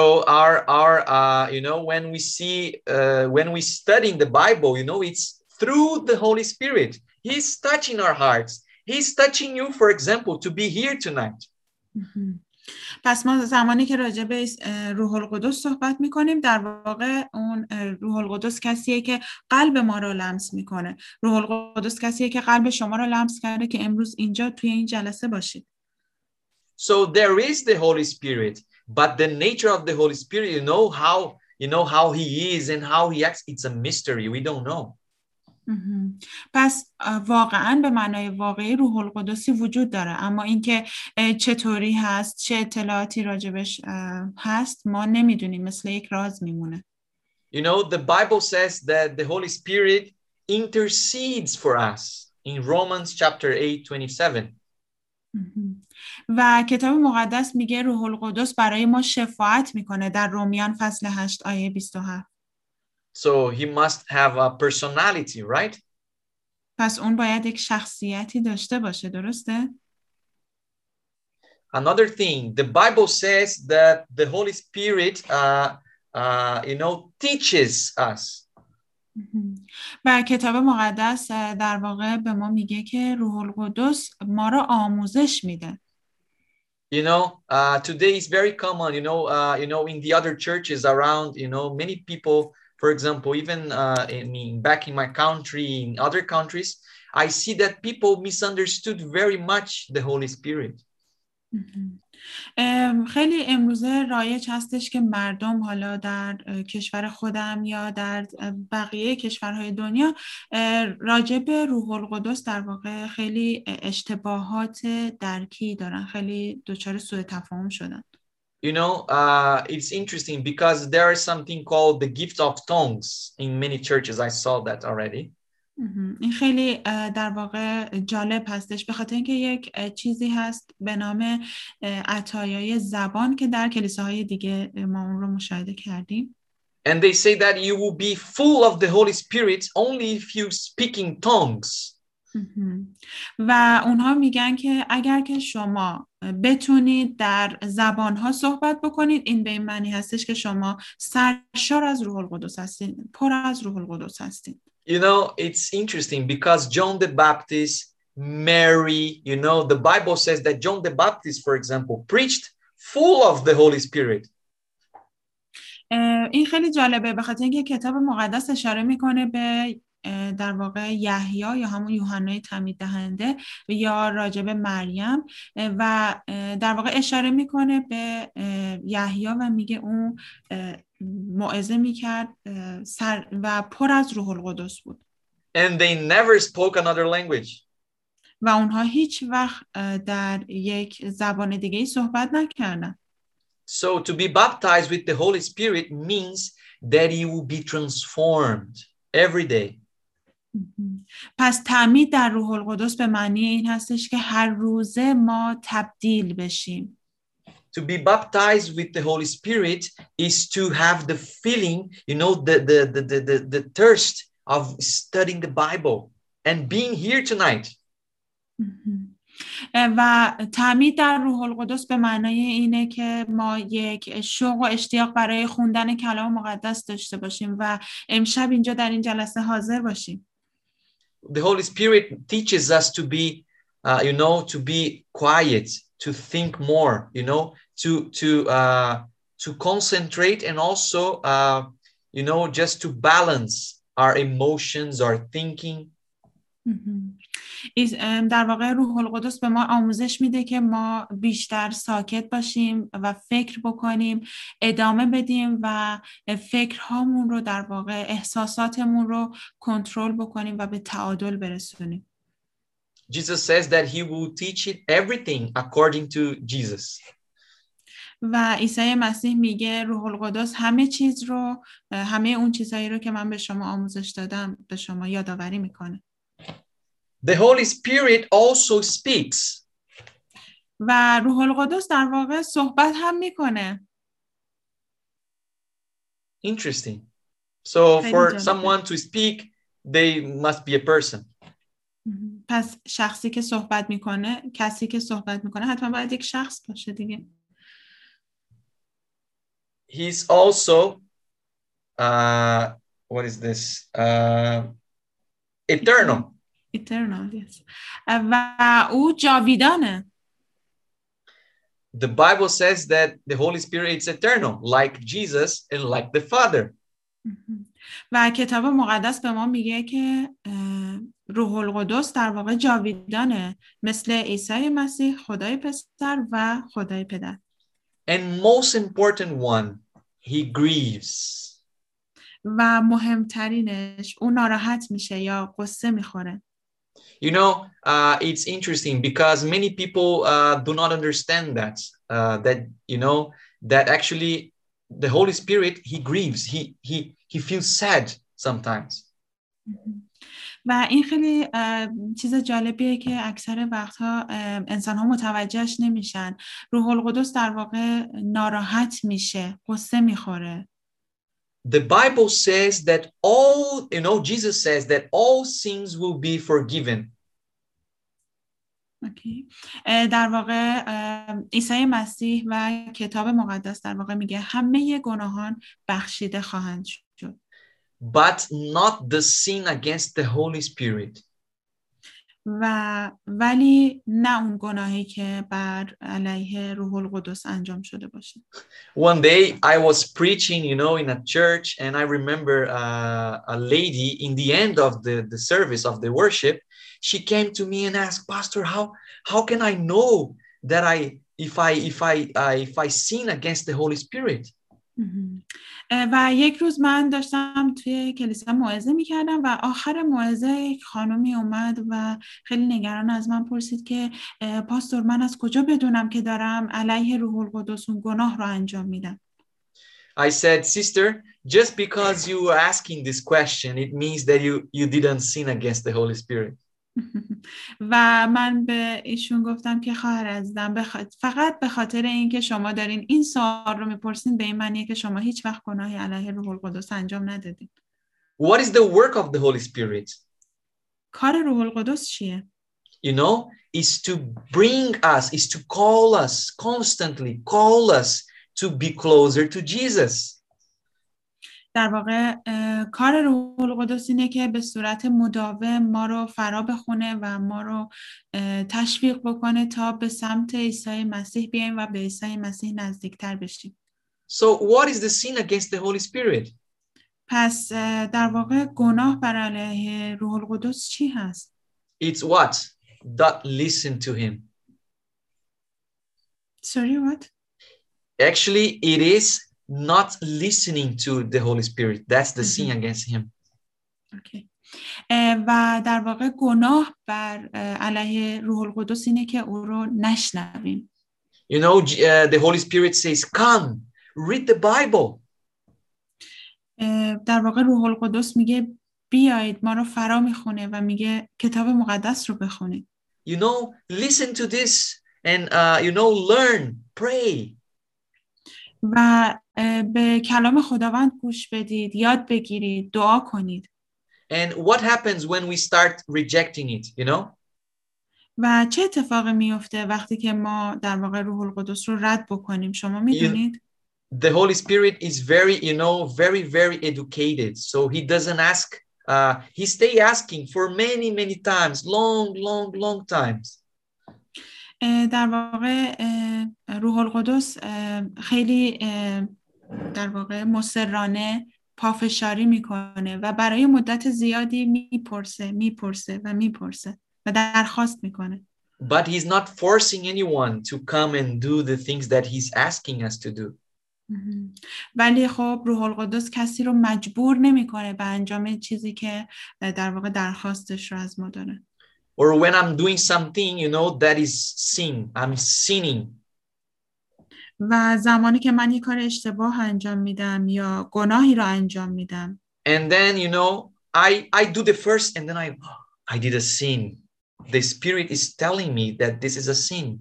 when we study in the Bible, it's through the Holy Spirit. He's touching our hearts. He's touching you, for example, to be here tonight. پس ما زمانی که راجع به روح القدس صحبت میکنیم در واقع اون روح القدس کسیه که قلب ما رو لمس میکنه. روح القدس کسیه که قلب شما رو لمس کرده که امروز اینجا توی این جلسه باشید. So there is the Holy Spirit, but the nature of the Holy Spirit, how he is and how he acts, it's a mystery. We don't know. پس واقعا به معنای واقعی روح القدسی وجود داره، اما اینکه چطوری هست، چه اطلاعاتی راجبش هست ما نمیدونیم، مثل یک راز میمونه. The Bible says that the Holy Spirit intercedes for us in Romans chapter 8:27. و کتاب مقدس میگه روح القدس برای ما شفاعت میکنه در رومیان فصل 8 آیه 27. So he must have a personality, right? پس اون باید یک شخصیتی داشته باشه، درسته؟ Another thing, the Bible says that the Holy Spirit, teaches us. و کتاب مقدس در واقع به ما میگه که روح القدس ما را آموزش میده. You know, today is very common, in the other churches around, many people, for example, even back in my country, in other countries, I see that people misunderstood very much the Holy Spirit. خیلی امروزه رایج هستش که مردم حالا در کشور خودم یا در بقیه کشورهای دنیا راجع به روح القدس در واقع خیلی اشتباهات درکی دارن، خیلی دچار سوء تفاهم شدن. It's interesting because there is something called the gift of tongues in many churches. I saw that already. این خیلی در واقع جالب هستش به خاطر اینکه یک چیزی هست به نام عطایای زبان که در کلیساهای دیگه ما اون رو مشاهده کردیم. And they say that you will be full of the Holy Spirit only if you speak in tongues. و اونها میگن که اگر که شما بتونید در زبانها صحبت بکنید، این به این معنی هستش که شما سرشار از روح القدس هستید، پر از روح القدس هستید. It's interesting because John the Baptist, Mary, the Bible says that John the Baptist, for example, preached full of the Holy Spirit. این خیلی جالبه به خاطر اینکه کتاب مقدس اشاره میکنه به در واقع یحیی یا همون یوحنای تعمید دهنده یا راجب مریم و در واقع اشاره میکنه به یحیی و میگه اون موعظه میکرد و پر از روح القدس بود. And they never spoke another language. و اونها هیچ وقت در یک زبان دیگه‌ای صحبت نکردن. So to be baptized with the Holy Spirit means that you will be transformed every day. پس تعمید در روح القدس به معنی این هستش که هر روزه ما تبدیل بشیم. To be baptized with the Holy Spirit is to have the feeling, the thirst of studying the Bible and being here tonight. و تعمید در روح القدس به معنای اینه که ما یک شوق و اشتیاق برای خوندن کلام مقدس داشته باشیم و امشب اینجا در این جلسه حاضر باشیم. The Holy Spirit teaches us to be, to be quiet, to think more, to concentrate and also, just to balance our emotions, our thinking. در واقع روح القدس به ما آموزش میده که ما بیشتر ساکت باشیم و فکر بکنیم، ادامه بدیم و فکرهامون رو در واقع احساساتمون رو کنترل بکنیم و به تعادل برسونیم. Jesus says that he will teach it everything according to Jesus. و عیسی مسیح میگه روح القدس همه اون چیزایی رو که من به شما آموزش دادم به شما یادآوری میکنه. The Holy Spirit also speaks. و روح القدس در واقع صحبت هم میکنه. Interesting. So for someone to speak, they must be a person. پس شخصی که صحبت میکنه، کسی که صحبت میکنه حتما باید یک شخص باشه دیگه. He's also, what is this? Eternal. Eternal, yes. و او جاویدانه. The Bible says that the Holy Spirit is eternal, like Jesus and like the Father. و کتاب مقدس به ما میگه که روح القدس در واقع جاویدانه، مثل عیسی مسیح، خدای پسر و خدای پدر. And most important one, he grieves. و مهمترینش اون ناراحت میشه یا قصه میخوره. It's interesting because many people do not understand that that actually the Holy Spirit, he grieves, he feels sad sometimes. و این خیلی چیز جالبیه که اکثر وقتها انسان ها متوجهش نمیشن. روح القدس در واقع ناراحت میشه، قصه میخوره. The Bible says that Jesus says that all sins will be forgiven. در واقع عیسی مسیح و کتاب مقدس در واقع میگه همه گناهان بخشیده خواهند شد. But not the sin against the Holy Spirit. ولی نه اون گناهی که بر علیه روح القدس انجام شده باشه. One day I was preaching, in a church, and I remember a lady in the end of the service of the worship, she came to me and asked, Pastor, how can I know that if I sin against the Holy Spirit? و یک روز من داشتم توی کلیسا موعظه میکردم و آخر موعظه یک خانمی اومد و خیلی نگران از من پرسید که پاستور، من از کجا بدونم که دارم علیه روح القدس اون گناه رو انجام میدم؟ I said, sister, just because you are asking this question, it means that you didn't sin against the Holy Spirit. و من به ایشون گفتم که خواهر عزیزم، فقط به خاطر اینکه شما دارین این سوال رو میپرسین به این معنیه که شما هیچ وقت گناهی علیه روح القدس انجام ندادین. What is the work of the Holy Spirit? کار روح القدس چیه؟ Is to bring us, is to call us, constantly call us to be closer to Jesus. در واقع کار روح القدس اینه که به صورت مداوم ما رو فرا بخونه و ما رو تشویق بکنه تا به سمت عیسی مسیح بیایم و به عیسی مسیح نزدیکتر بشیم. So what is the sin against the Holy Spirit? پس در واقع گناه بر علیه روح القدس چی هست؟ It's what? Don't listen to him. Sorry, what? Actually, it is not listening to the Holy Spirit. That's the sin against him. Okay. و در واقع گناه بر علیه روح القدس اینه که او رو نشنویم. The Holy Spirit says, come, read the Bible. در واقع روح القدس میگه بیایید، ما رو فرا میخونه و میگه کتاب مقدس رو بخونید. Listen to this and learn, pray. و به کلام خداوند گوش بدید، یاد بگیرید، دعا کنید. And what happens when we start rejecting it, و چه اتفاقی میفته وقتی که ما در واقع روح القدس رو رد بکنیم؟ شما میدونید؟ The Holy Spirit is very, very, very educated. So he doesn't ask, he stay asking for many, many times, long times. در واقع روح القدس خیلی در واقع مصرانه پافشاری میکنه و برای مدت زیادی میپرسه و درخواست میکنه. But he's not forcing anyone to come and do the things that he's asking us to do. ولی خب روح القدس کسی رو مجبور نمیکنه به انجام چیزی که در واقع درخواستش رو از ما داره. Or when I'm doing something, that is sin. I'm sinning. و زمانی که من یک کار اشتباه انجام میدم یا گناهی رو انجام میدم. And then, I do the first and then I did a sin. The Spirit is telling me that this is a sin.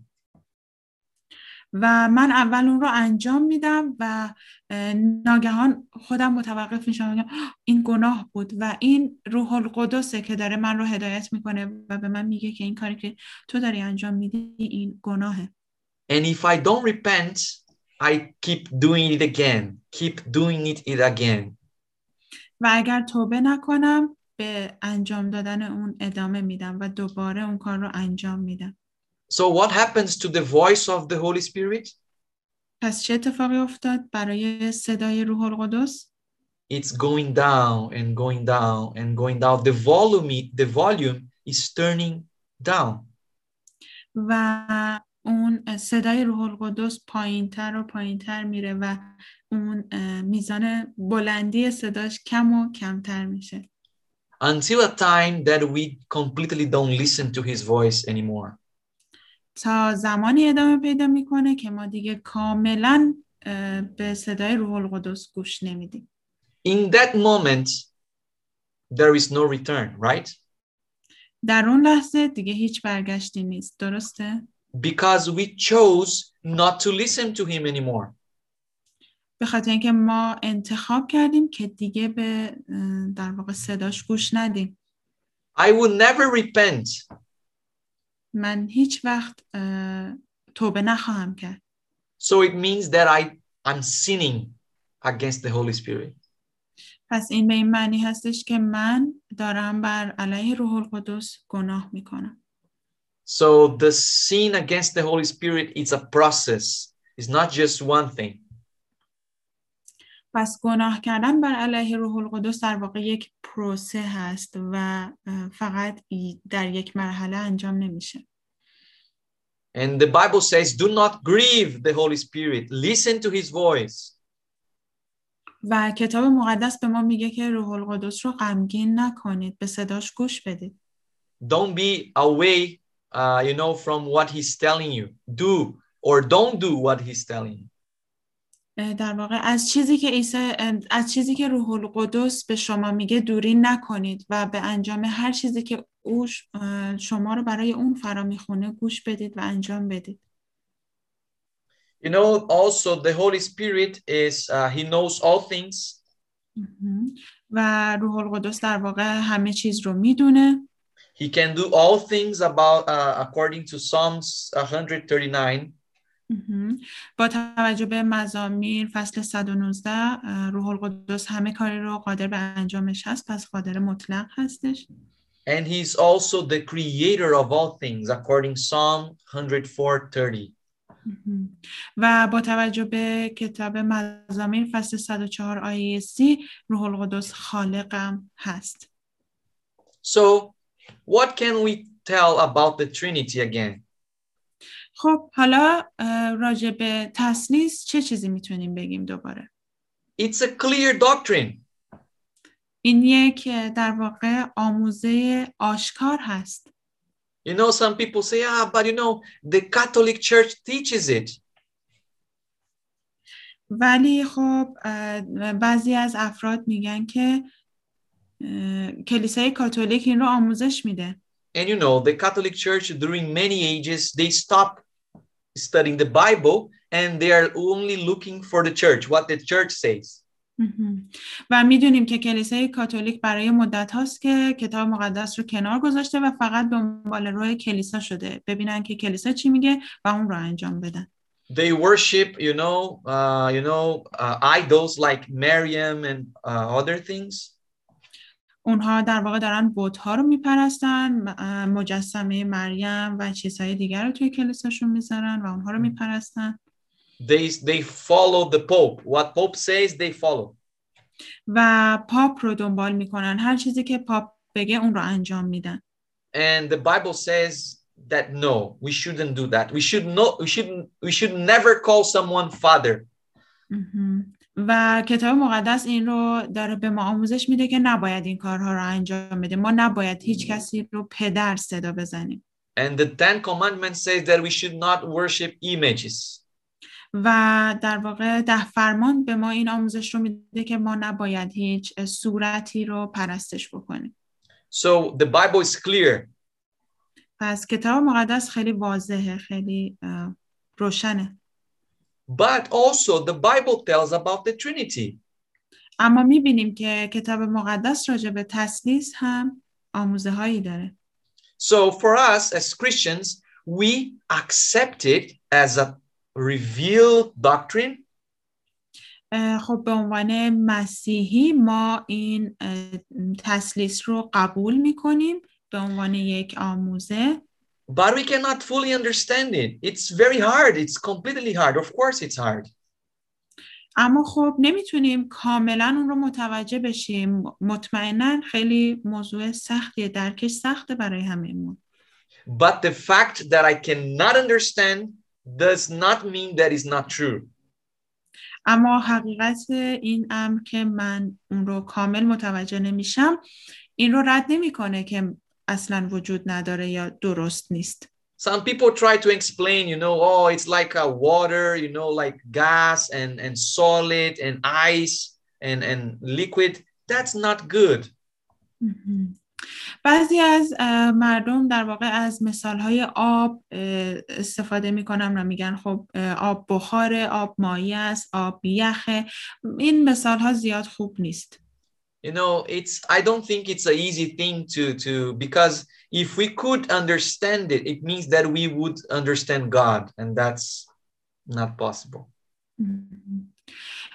و من اول اون رو انجام میدم و ناگهان خودم متوقف میشم و میگم این گناه بود و این روح القدسه که داره من رو هدایت میکنه و به من میگه که این کاری که تو داری انجام میدی این گناهه. And if I don't repent, I keep doing it again. و اگر توبه نکنم به انجام دادن اون ادامه میدم و دوباره اون کار رو انجام میدم. So what happens to the voice of the Holy Spirit? پس چه اتفاقی افتاد برای صدای روح القدس؟ It's going down and going down and going down. The volume is turning down. و اون صدای روح القدس پایینتر و پایینتر میره و اون میزان بلندی صداش کم و کمتر میشه. Until a time that we completely don't listen to his voice anymore. تا زمانی ادامه پیدا میکنه که ما دیگه کاملا به صدای روح القدس گوش نمیدیم. In that moment, there is no return, right? در اون لحظه دیگه هیچ برگشتی نیست، درسته؟ Because we chose not to listen to him anymore. به خاطر اینکه ما انتخاب کردیم که دیگه به در واقع صداش گوش ندیم. I will never repent. من هیچ وقت توبه نخواهم کرد. So it means that I'm sinning against the Holy Spirit. پس این به این معنی هستش که من دارم بر علیه روح القدس گناه میکنم. So the sin against the Holy Spirit is a process. It's not just one thing. پس گناه کردن بر علیه روح القدس در واقع یک پروسه هست و فقط در یک مرحله انجام نمیشه. And the Bible says, do not grieve the Holy Spirit. Listen to his voice. و کتاب مقدس به ما میگه که روح القدس رو غمگین نکنید، به صداش گوش بدید. Don't be away, from what he's telling you. Do or don't do what he's telling you. در واقع از چیزی که روح القدس به شما میگه دوری نکنید و به انجام هر چیزی که او شما رو برای اون فرا میخونه گوش بدید و انجام بدید. Also the Holy Spirit is, he knows all things. و روح القدس در واقع همه چیز رو میدونه. He can do all things according to Psalms 139. با توجه به مزامیر فصل 119 روح القدس همه کاری رو قادر به انجامش هست، پس قادر مطلق هستش. And he's also the creator of all things according Psalm 104:30. و با توجه به کتاب مزامیر فصل 104 آیه 30 روح القدس خالقم هست. So what can we tell about the Trinity again? خب حالا راجع به تثلیث چه چیزی میتونیم بگیم دوباره؟ It's a clear doctrine. این یک در واقع آموزه آشکار هست. Some people say, but the Catholic Church teaches it. ولی خب بعضی از افراد میگن که کلیسای کاتولیک این رو آموزش میده. And the Catholic Church during many ages, they stopped studying the Bible and they are only looking for the church, what the church says. و میدونیم که کلیسای کاتولیک برای مدت هاست که کتاب مقدس رو کنار گذاشته و فقط دنبال روی کلیسا شده، ببینن که کلیسا چی میگه و اون رو انجام بدن. They worship, idols like Miriam and other things. اونها در واقع دارن بت‌ها رو میپرستن، مجسمه مریم و چیزهای دیگر رو توی کلیساشون میذارن و اونها رو میپرستن. They follow the Pope. What Pope says, they follow. و پاپ رو دنبال میکنن، هر چیزی که پاپ بگه اون رو انجام میدن. And the Bible says that no, we shouldn't do that. We should never call someone father. و کتاب مقدس این رو داره به ما آموزش میده که نباید این کارها رو انجام بدیم. ما نباید هیچ کسی رو پدر صدا بزنیم. And the 10 commandments says that we should not worship images. و در واقع 10 فرمان به ما این آموزش رو میده که ما نباید هیچ صورتی رو پرستش بکنیم. So the Bible is clear. پس کتاب مقدس خیلی واضحه، خیلی روشنه. But also the Bible tells about the Trinity. اما میبینیم که کتاب مقدس راجع به تثلیث هم آموزه هایی داره. So for us as Christians, we accept it as a revealed doctrine. خب به عنوان مسیحی ما این تثلیث رو قبول میکنیم به عنوان یک آموزه. But we cannot fully understand it. It's very hard. It's completely hard. Of course it's hard. اما خب نمیتونیم کاملا اون رو متوجه بشیم. مطمئنا خیلی موضوع سختیه، درکش سخته برای همه. But the fact that I cannot understand does not mean that it's not true. اما حقیقت این امر که من اون رو کامل متوجه نمیشم این رو رد نمیکنه که اصلا وجود نداره یا درست نیست. Some people try to explain, it's like a water, like gas and solid and ice and liquid. That's not good. بعضی از مردم در واقع از مثالهای آب استفاده میکنن و میگن خب آب بخاره، آب مایع است، آب یخه. این مثالها زیاد خوب نیست. I don't think it's an easy thing to because if we could understand it, it means that we would understand God, and that's not possible.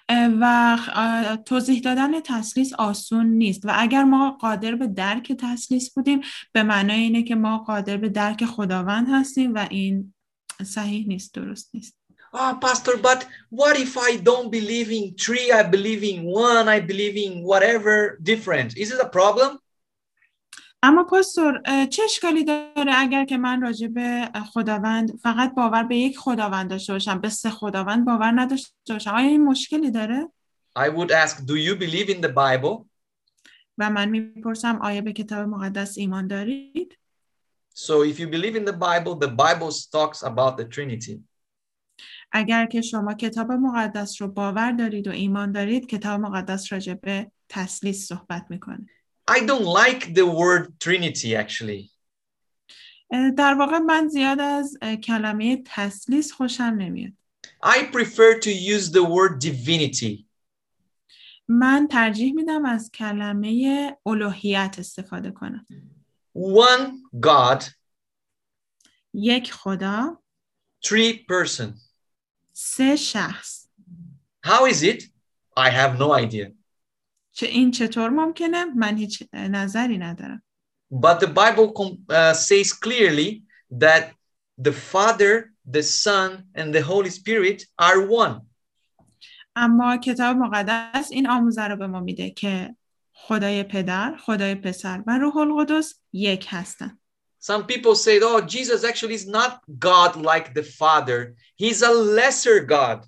و توضیح دادن تثلیث آسون نیست و اگر ما قادر به درک تثلیث بودیم به معنای اینه که ما قادر به درک خداوند هستیم و این صحیح نیست، درست نیست. Pastor, but what if I don't believe in three, I believe in one, I believe in whatever different? Is it a problem? اما پاستور چه اشکالی داره اگر که من راجع به خداوند فقط باور به یک خداوند داشته باشم، به سه خداوند باور نداشته باشم؟ آیا این مشکلی داره؟ I would ask, do you believe in the Bible? و من میپرسم آیا به کتاب مقدس ایمان دارید؟ So if you believe in the Bible talks about the Trinity. اگر که شما کتاب مقدس رو باور دارید و ایمان دارید، کتاب مقدس راجع به تثلیث صحبت میکنه. I don't like the word Trinity actually. در واقع من زیاد از کلمه تثلیث خوشم نمیاد. I prefer to use the word divinity. من ترجیح میدم از کلمه الوهیت استفاده کنم. One God. یک خدا. Three person. سه شخص. How is it? I have no idea. این چطور ممکنه؟ من هیچ نظری ندارم. But the Bible says clearly that the Father, the Son, and the Holy Spirit are one. اما کتاب مقدس این آموزه رو به ما میده که خدای پدر، خدای پسر و روح القدس یک هستن. Some people say, oh, Jesus actually is not God like the Father. He's a lesser God.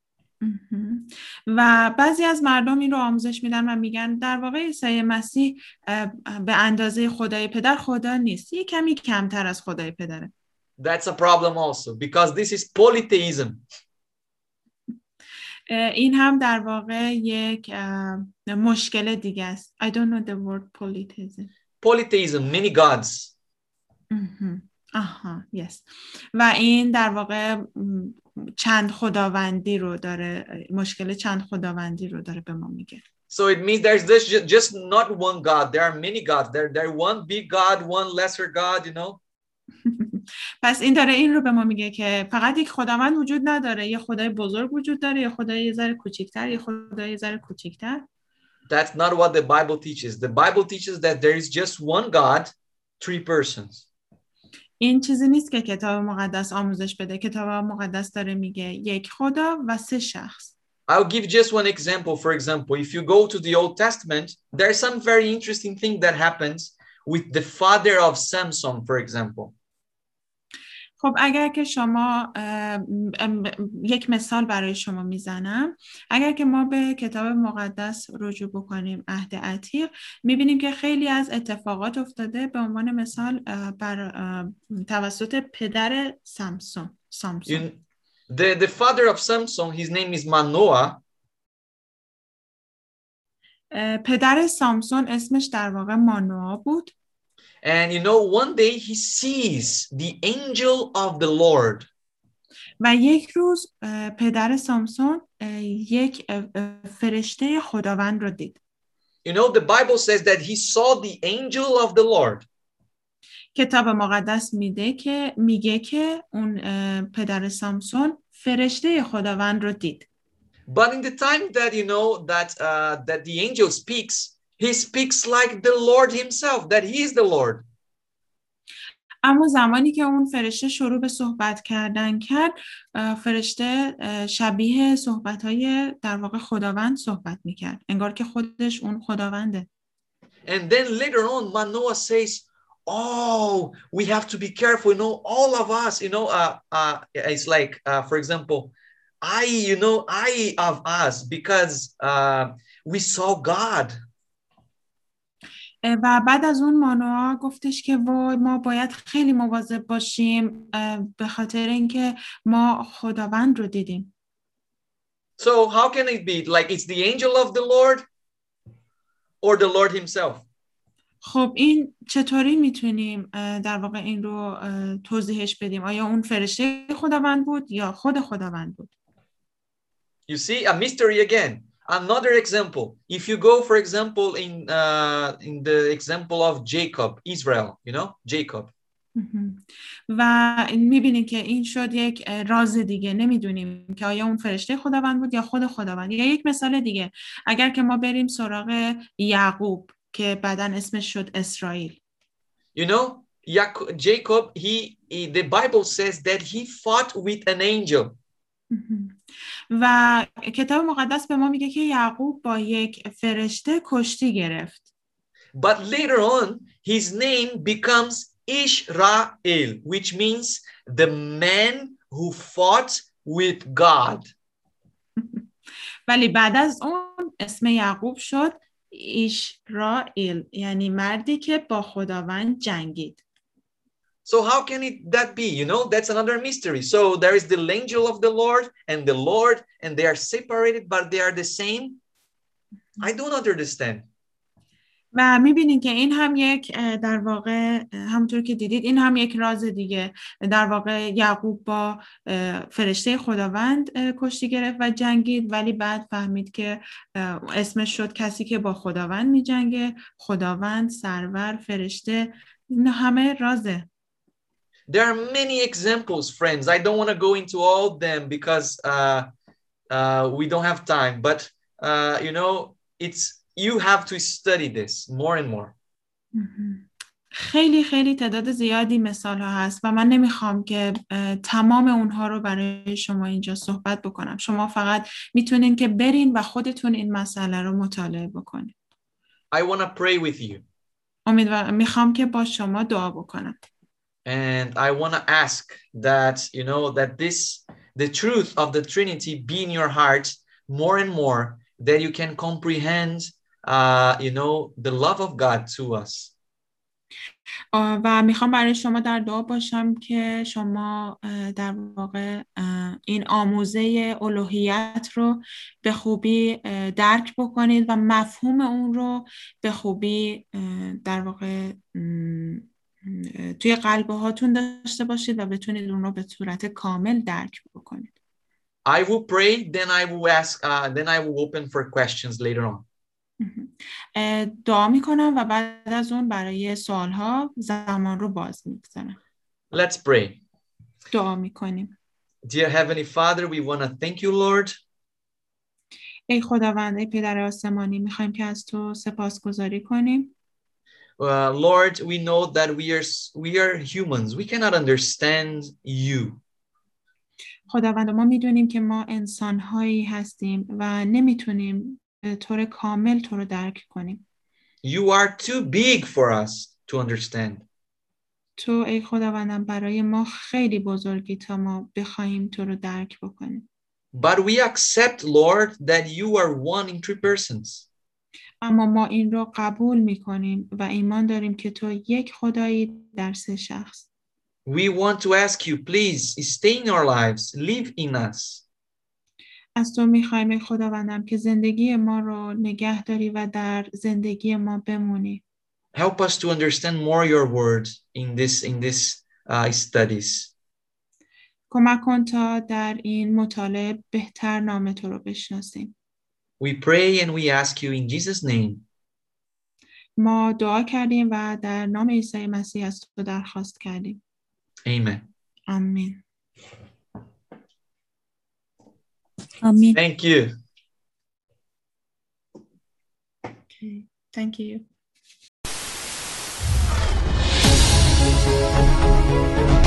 و بعضی از مردم این رو آموزش میدن و میگن در واقع عیسی مسیح به اندازه خدای پدر خدا نیست، یه کمی کمتر از خدای پدره. That's a problem also because this is polytheism. این هم در واقع یک مشکل دیگه است. I don't know the word polytheism. Polytheism, many gods. yes. و این در واقع چند خداوندی رو داره، مشکل چند خداوندی رو داره به ما میگه. So it means there's just not one God. There are many gods. There one big God, one lesser God, you know. پس این داره این رو به ما میگه که فقط یک خداوند وجود نداره، یه خدای بزرگ وجود داره، یه خدای یه ذره کوچیک‌تر، یه خدای یه ذره کوچیک‌تر. That's not what the Bible teaches. The Bible teaches that there is just one God, three persons. این چیزی نیست که کتاب مقدس آموزش بده. کتاب مقدس داره میگه یک خدا و سه شخص. I'll give just one example. For example, if you go to the Old Testament, there's some very interesting thing that happens with the father of Samson, for example. خب اگر که شما یک مثال برای شما میزنم، اگر که ما به کتاب مقدس رجوع بکنیم عهد عتیق، میبینیم که خیلی از اتفاقات افتاده. به عنوان مثال بر توسط پدر سامسون. The father of Samson, his name is Manoah. پدر سامسون اسمش در واقع مانوآ بود. And you know, one day he sees the angel of the Lord. و یک روز پدر سامسون یک فرشته خداوند رو دید. You know, the Bible says that he saw the angel of the Lord. کتاب مقدس میگه که اون پدر سامسون فرشته خداوند رو دید. But in the time that you know that the angel speaks, he speaks like the Lord himself, that he is the Lord. اما زمانی که اون فرشته شروع به صحبت کردن کرد، فرشته شبیه صحبت‌های در واقع خداوند صحبت می‌کرد، انگار که خودش اون خداونده. And then later on, Manoah says, "Oh, we have to be careful. You know, all of us. You know, it's like, for example, I of us because we saw God." و بعد از اون مانوآ گفتش که ما باید خیلی مواظب باشیم به خاطر اینکه ما خداوند رو دیدیم. So how can it be like it's the angel of the Lord or the Lord himself? خب این چطوری میتونیم در واقع این رو توضیحش بدیم؟ آیا اون فرشته خداوند بود یا خود خداوند بود؟ You see a mystery again. Another example. If you go, for example, in the example of Jacob, Israel, you know, Jacob. و میبینید که این شد یک راز دیگه. نمیدونیم که آیا اون فرشته خداوند بود یا خود خداوند. یا یک مثال دیگه، اگر که ما بریم سراغ یعقوب که بعداً اسمش شد اسرائیل. You know, Jacob, the Bible says that he fought with an angel. و کتاب مقدس به ما میگه که یعقوب با یک فرشته کشتی گرفت. But later on, his name becomes Israel, which means the man who fought with God. ولی بعد از اون اسم یعقوب شد اسرائیل، یعنی مردی که با خداوند جنگید. So how can that be? You know, that's another mystery. So there is the angel of the Lord, and they are separated, but they are the same. I don't understand. و میبینید که این هم یک در واقع همونطور که دیدید این هم یک راز دیگه. در واقع یعقوب با فرشته خداوند کشتی گرفت و جنگید، ولی بعد فهمید که اسمش شد کسی که با خداوند میجنگه. خداوند، سرور، فرشته، این همه رازه. There are many examples, friends. I don't want to go into all of them because we don't have time. But you know, you have to study this more and more. خیلی خیلی تعداد زیادی مثال ها هست و من نمیخوام که تمام اونها رو برای شما اینجا صحبت بکنم. شما فقط میتونین که برین و خودتون این مسئله رو مطالعه بکنید. I want to pray with you. میخوام که با شما دعا بکنم. And I want to ask that, you know, that the truth of the Trinity be in your heart more and more, that you can comprehend, you know, the love of God to us. و میخوام برای شما در دعا باشم که شما در واقع این آموزه الوهیت رو به خوبی درک بکنید و مفهوم اون رو به خوبی در واقع توی قلبه هاتون داشته باشید و بتونید اون رو به صورت کامل درک بکنید. I will pray, then I will ask, then I will open for questions later on. دعا میکنم و بعد از اون برای سوالها زمان رو باز میگذارم. Let's pray. دعا میکنیم. Dear Heavenly Father, we want to thank you, Lord. ای خداوند، ای پدر آسمانی، میخوایم که از تو سپاسگزاری کنیم. Lord, we know that we are humans. We cannot understand you. خداوند، ما میدونیم که ما انسان‌هایی هستیم و نمیتونیم به طور کامل تو رو درک کنیم. You are too big for us to understand. تو ای خداوندم برای ما خیلی بزرگی تا ما بخوایم تو رو درک بکنیم. But we accept, Lord, that you are one in 3 persons. اما ما این رو قبول میکنیم و ایمان داریم که تو یک خدایی در 3 شخص. We want to ask you, please stay in our lives, live in us. از تو میخوایم ای خداوندم که زندگی ما رو نگه داری و در زندگی ما بمونی. Help us to understand more your word in this studies. کمک کن تا در این مطالعه بهتر نام تو رو بشناسیم. We pray and we ask you in Jesus' name. ما دعا کردیم و در نام عیسی مسیح از تو درخواست کردیم. Amen. آمین. آمین. Thank you. Okay. Thank you.